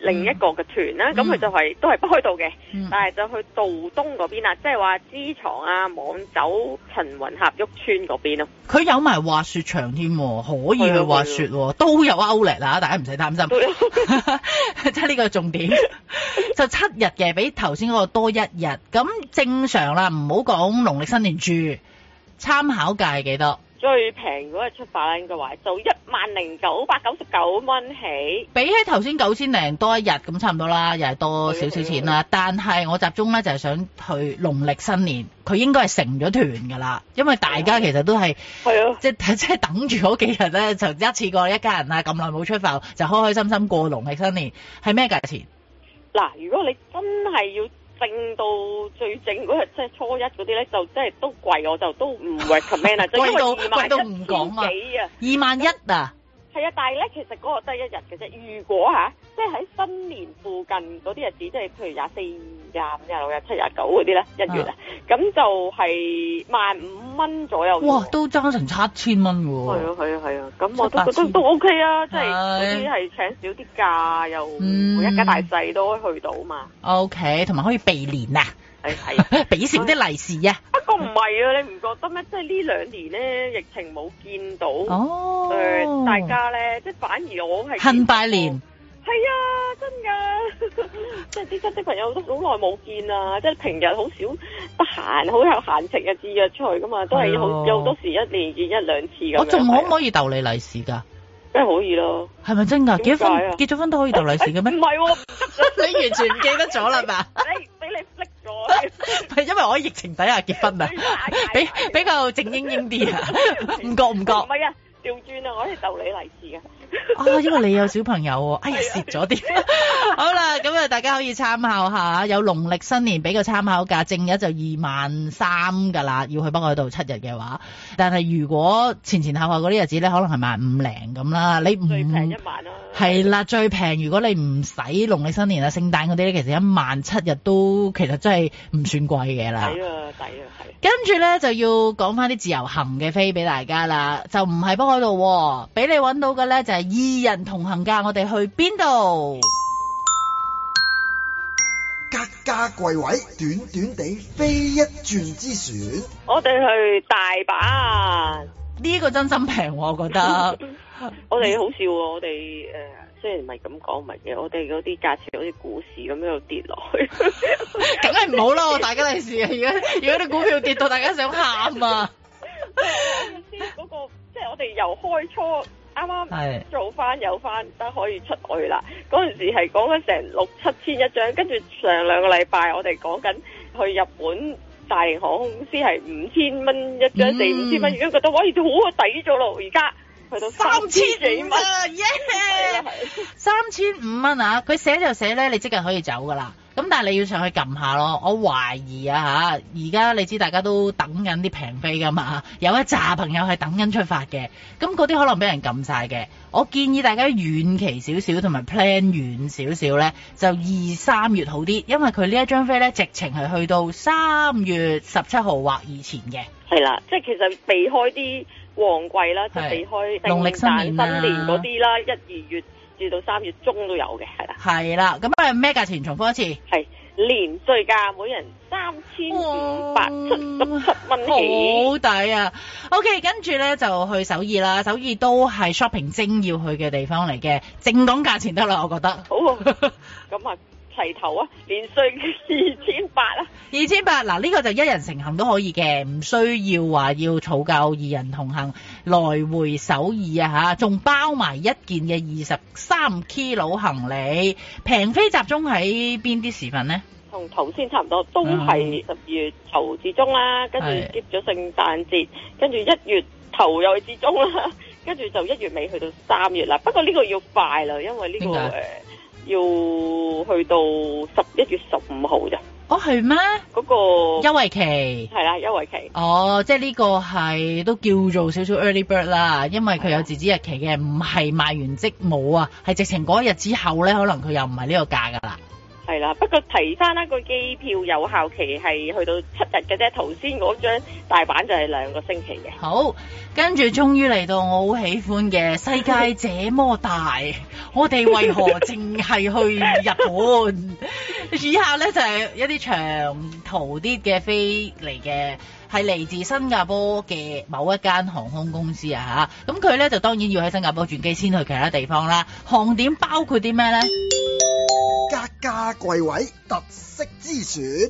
另一個嘅團啦，咁、嗯、佢就係、是、都係北海道嘅，嗯、但係就去道東嗰邊啦，即係話知床啊、網走、陳雲峽屋村嗰邊咯。 佢有埋滑雪場添，可以去滑雪，都有 outlet 啦，大家唔使擔心。即係呢個重點，就七日嘅，比頭先嗰個多一日。咁正常啦，唔好講農曆新年住，參考價係幾多？ 最平嗰日出發啦，應該話就一萬零九百九十九蚊起， 比起頭先九千零多一日咁差唔多啦，又係多少少錢啦。但係我集中咧就係想去農曆新年，佢應該係成咗團㗎啦，因為大家其實都係係啊，即係即係等住嗰幾日咧，就一次過一家人啊咁耐冇出發，就開開心心過農曆新年，係咩價錢？ 嗱，如果你真係要正到最正嗰日，即係初一嗰啲咧，就真係都貴，我就都唔 recommend 啊，就因為二萬一千幾啊，二萬一啊，係啊，但係咧其實嗰個得一日嘅啫。如果吓、啊，即係喺新年附近嗰啲日子，即係譬如廿四、廿五、廿六、廿七、廿九嗰啲咧，一月啊，咁就係萬五蚊左右。哇，都爭成七千蚊喎。係啊，係啊，係啊，咁我都覺得都 OK 啊，即係嗰啲係請少啲假，又每一家大細都可以去到嘛。OK， 同埋可以避年啊。係係，俾少啲利是啊！不過唔係啊，你唔覺得咩？即係呢兩年咧，疫情冇見到，哦，誒、呃，大家咧，即係反而我係恨拜年。係啊，真㗎！即係啲親戚朋友都好耐冇見啦，即係平日好少得閒，好有閒情嘅節約出去噶嘛，都係好有好多時一年見一兩次咁樣。我仲可唔可以逗你利是㗎？梗係可以咯。係咪真㗎？結咗婚結咗婚都可以逗利是嘅咩？唔係喎，你完全唔記得咗啦嘛？你俾你 flick 咗，係因為我喺疫情底下結婚啊，比比較靜英英啲啊，唔覺唔覺？唔係啊，調轉啊，我係逗你利是㗎。哦，因為你有小朋友喎，哎呀蝕咗啲。好啦，咁啊大家可以參考下，有農曆新年俾個參考價，正日就二萬三噶啦，要去北海道七日嘅話。但係如果前前後後嗰啲日子咧，可能係萬五零咁啦。你唔最平一萬啦。係啦，最平如果你唔使農曆新年啊、聖誕嗰啲咧，其實一萬七日都其實真係唔算貴嘅啦。抵啊，抵啊，係。跟住咧就要講翻啲自由行嘅飛俾大家啦，就唔係北海道，俾你揾到嘅咧就係二人同行價，我哋去邊度？ 格價貴位，短短地飛一轉之選。 我哋去大阪， 呢個真心平，我覺得。 我哋好笑喎，我哋誒、呃、雖然唔係咁講，唔係嘅，我哋嗰啲價錢好似股市咁樣跌落去，梗係唔好啦！大家利是啊，而家如果啲股票跌到大家想喊啊！先嗰個即係我哋由開初。啱啱做翻有翻得可以出去啦，嗰陣時係講緊成六七千一張，跟住上兩個禮拜我哋講緊去日本大型航空公司係五千蚊一張，四五千蚊，而家覺得哇，好抵咗咯，而家去到三千幾蚊，耶！三千五蚊啊！佢寫就寫咧，你即日可以走噶啦。咁但係你要上去撳下咯，我懷疑啊吓，而家你知大家都等緊啲平飛噶嘛，有一紮朋友係等緊出發嘅，咁嗰啲可能俾人撳晒嘅。我建議大家遠期少少同埋 plan 遠少少咧，就二三月好啲，因為佢呢一張飛咧直情係去到三月十七號或以前嘅。係啦，即係其實避開啲旺季啦，即係避開農曆新年新年嗰啲啦，一二月至到三月中都有嘅，係啦。係啦，咁啊咩價錢？重複一次。係連稅價，每人三千五百七十七蚊起，好抵啊 ！OK， 跟住咧就去首爾啦，首爾都係 shopping 精要去嘅地方嚟嘅，淨講價錢得啦，我覺得。好啊，咁啊。齊頭啊，連稅二千八啊，二千八嗱，呢個就一人成行都可以嘅，唔需要話要儲夠二人同行來回首爾啊吓，仲包埋一件嘅二十三 kilo 行李，平飛集中喺邊啲時份呢？同頭先差唔多，都係十月頭至中啦，跟住接咗聖誕節，跟住一月頭又至中啦，跟住就一月尾去到三月啦。不過呢個要快啦，因為呢、這個誒。要去到十一月十五號咋？哦，係咩？嗰個優惠期係啦，優惠期。哦，即係呢個係都叫做少少 early bird 啦，因為佢有截止日期嘅，唔係賣完即冇啊，係直情嗰一日之後咧，可能佢又唔係呢個價噶啦。 係啦，不過提翻啦，個機票有效期係去到七日嘅啫。頭先嗰張大阪就係兩個星期嘅。 好，跟住終於嚟到我好喜歡嘅世界這麼大，我哋為何淨係去日本？以下咧就係、是、一啲長途啲嘅飛嚟嘅，係嚟自新加坡嘅某一間航空公司啊嚇。咁佢咧就當然要喺新加坡轉機先去其他地方啦。航點包括啲咩咧？ 格價貴位特色之選。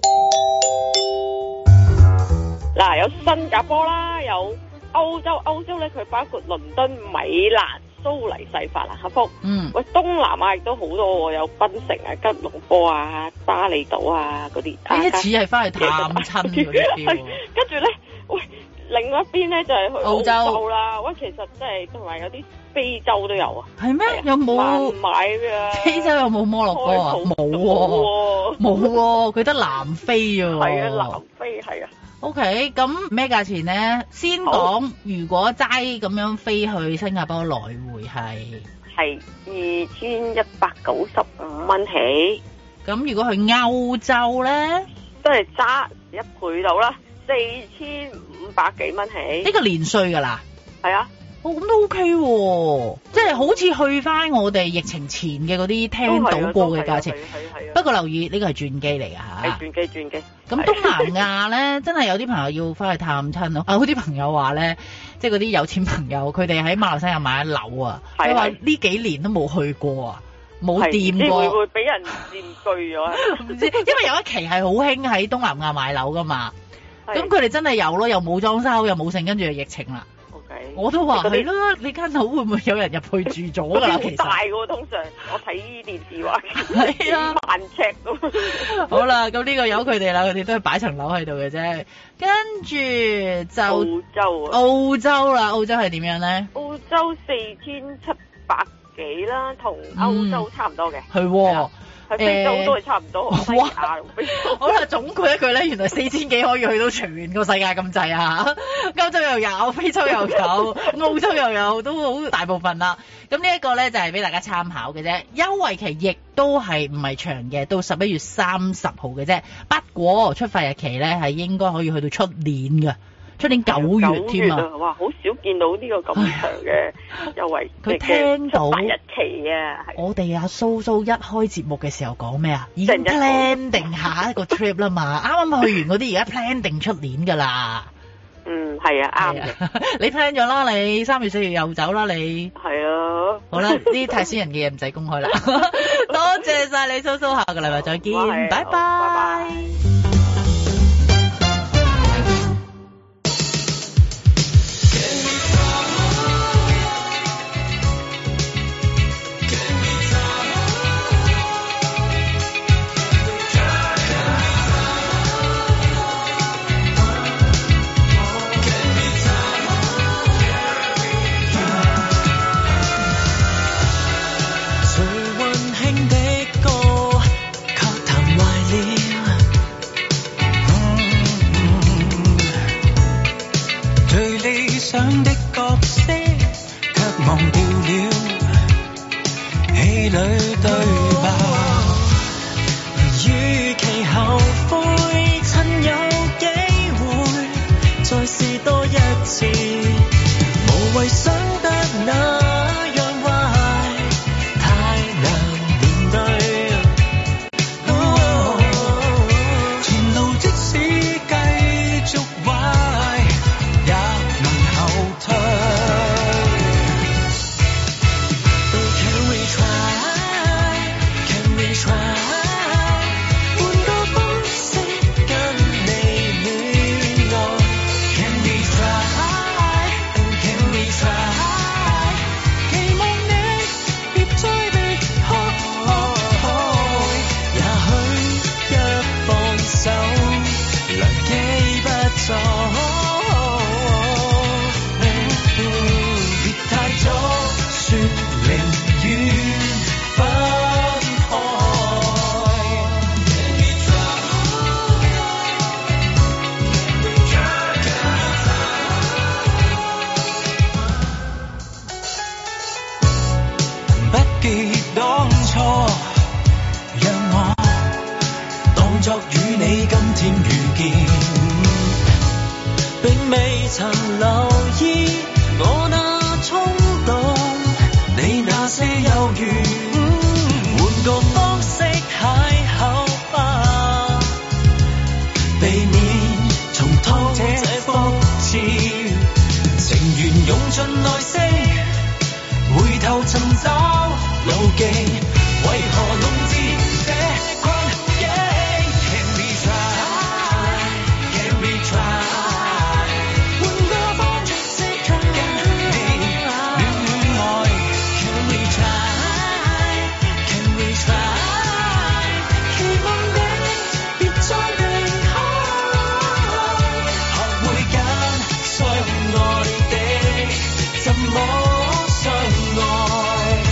嗱，有新加坡啦，有歐洲，歐洲咧佢包括倫敦、米蘭、蘇黎世、法蘭克福。嗯。喂，東南亞亦都好多喎，有檳城啊、吉隆坡啊、巴厘島啊嗰啲。 呢一次係翻去探親嗰啲。 跟住咧，喂，另外一邊咧就係去澳洲啦。喂，其實即係同埋有啲非洲都有啊。係咩？有冇？難買㗎。非洲有冇摩洛哥啊？冇喎，冇喎，佢得南非喎。係啊，南非係啊。 O K， 咁咩價錢咧？先講，如果齋咁樣飛去新加坡來回係係二千一百九十五蚊起。 咁如果去歐洲咧， 都係揸一倍到啦，四千五百幾蚊起。 呢個連稅㗎啦。 係啊。 哦，咁都 OK 喎，即係好似去翻我哋疫情前嘅嗰啲聽到過嘅價錢。不過留意呢個係轉機嚟㗎嚇。 係轉機轉機。咁東南亞咧，真係有啲朋友要翻去探親咯。啊，嗰啲朋友話咧，即係嗰啲有錢朋友，佢哋喺馬來西亞買樓啊，佢話呢幾年都冇去過啊，冇掂過。 會唔會俾人佔據咗？ 唔知，因為有一期係好興喺東南亞買樓㗎嘛。咁佢哋真係有咯，又冇裝修，又冇剩，跟住就疫情啦。我都話係咯，你間樓會唔會有人入去住咗㗎啦？其實大喎，通常我睇電視話係啊，萬尺咁。 好啦，咁呢個由佢哋啦，佢哋都係擺層樓喺度嘅啫。跟住就澳洲啊， 澳洲啦，澳洲係點樣咧？ 澳洲四千七百幾啦，同歐洲差唔多嘅。 係喎。 非洲都係差唔多， 哇！好啦，總括一句咧，原來四千幾可以去到全個世界咁滯啊！歐洲又有，非洲又有，澳洲又有，都好大部分啦。咁呢一個咧就係俾大家參考嘅啫，優惠期亦都係唔係長嘅，到十一月三十號嘅啫。不過出發日期咧係應該可以去到出年嘅。出年九月添啊！ 哇，好少見到呢個咁長嘅優惠。 佢聽到日期啊！ 我哋阿蘇蘇一開節目嘅時候講咩啊？已經 plan 定下一個 trip 啦嘛，啱啱去完嗰啲而家 plan 定出年㗎啦。 嗯，係啊，啱嘅。 你 plan 咗啦，你三月四月又走啦，你。 係啊。 好啦，呢啲太私人嘅嘢唔使公開啦。多謝晒你，蘇蘇，下個禮拜再見，拜拜。拜拜。 想的角色卻忘掉了戲裏對白，與其後悔，趁有機會再試多一次，無謂想得那樣壞，太難面對。哦，前路即使繼續壞，也能後退。Oh, can we try? 曾留意我那衝動，你那些猶豫，換個方式邂逅吧，避免重蹈這覆轍。情緣用盡耐性，回頭尋找路徑，為何弄至這困境？Can we try? Can we try? 換個方式跟你戀愛。Can we try? Can we try? 期望你別再離開，學會揀相愛的，怎麼相愛？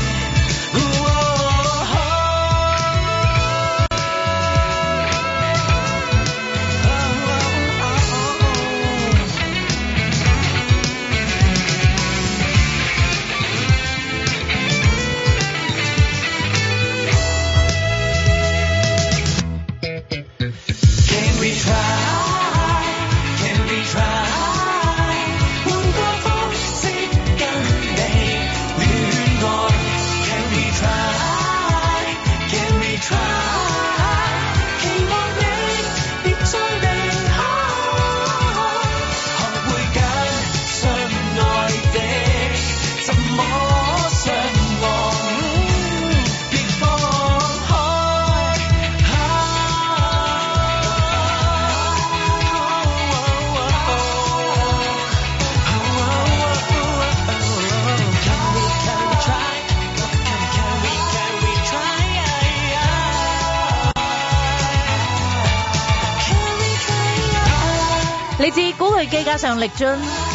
嚟自古巨基加上力臻，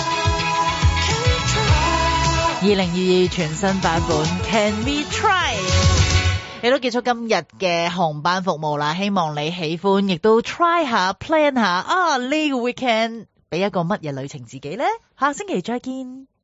二零二二全新版本 Can We Try， 亦都結束今日嘅航班服務啦。希望你喜歡，亦都 try 下 plan 下啊呢個 weekend 俾一個乜嘢旅程自己呢？下星期再見。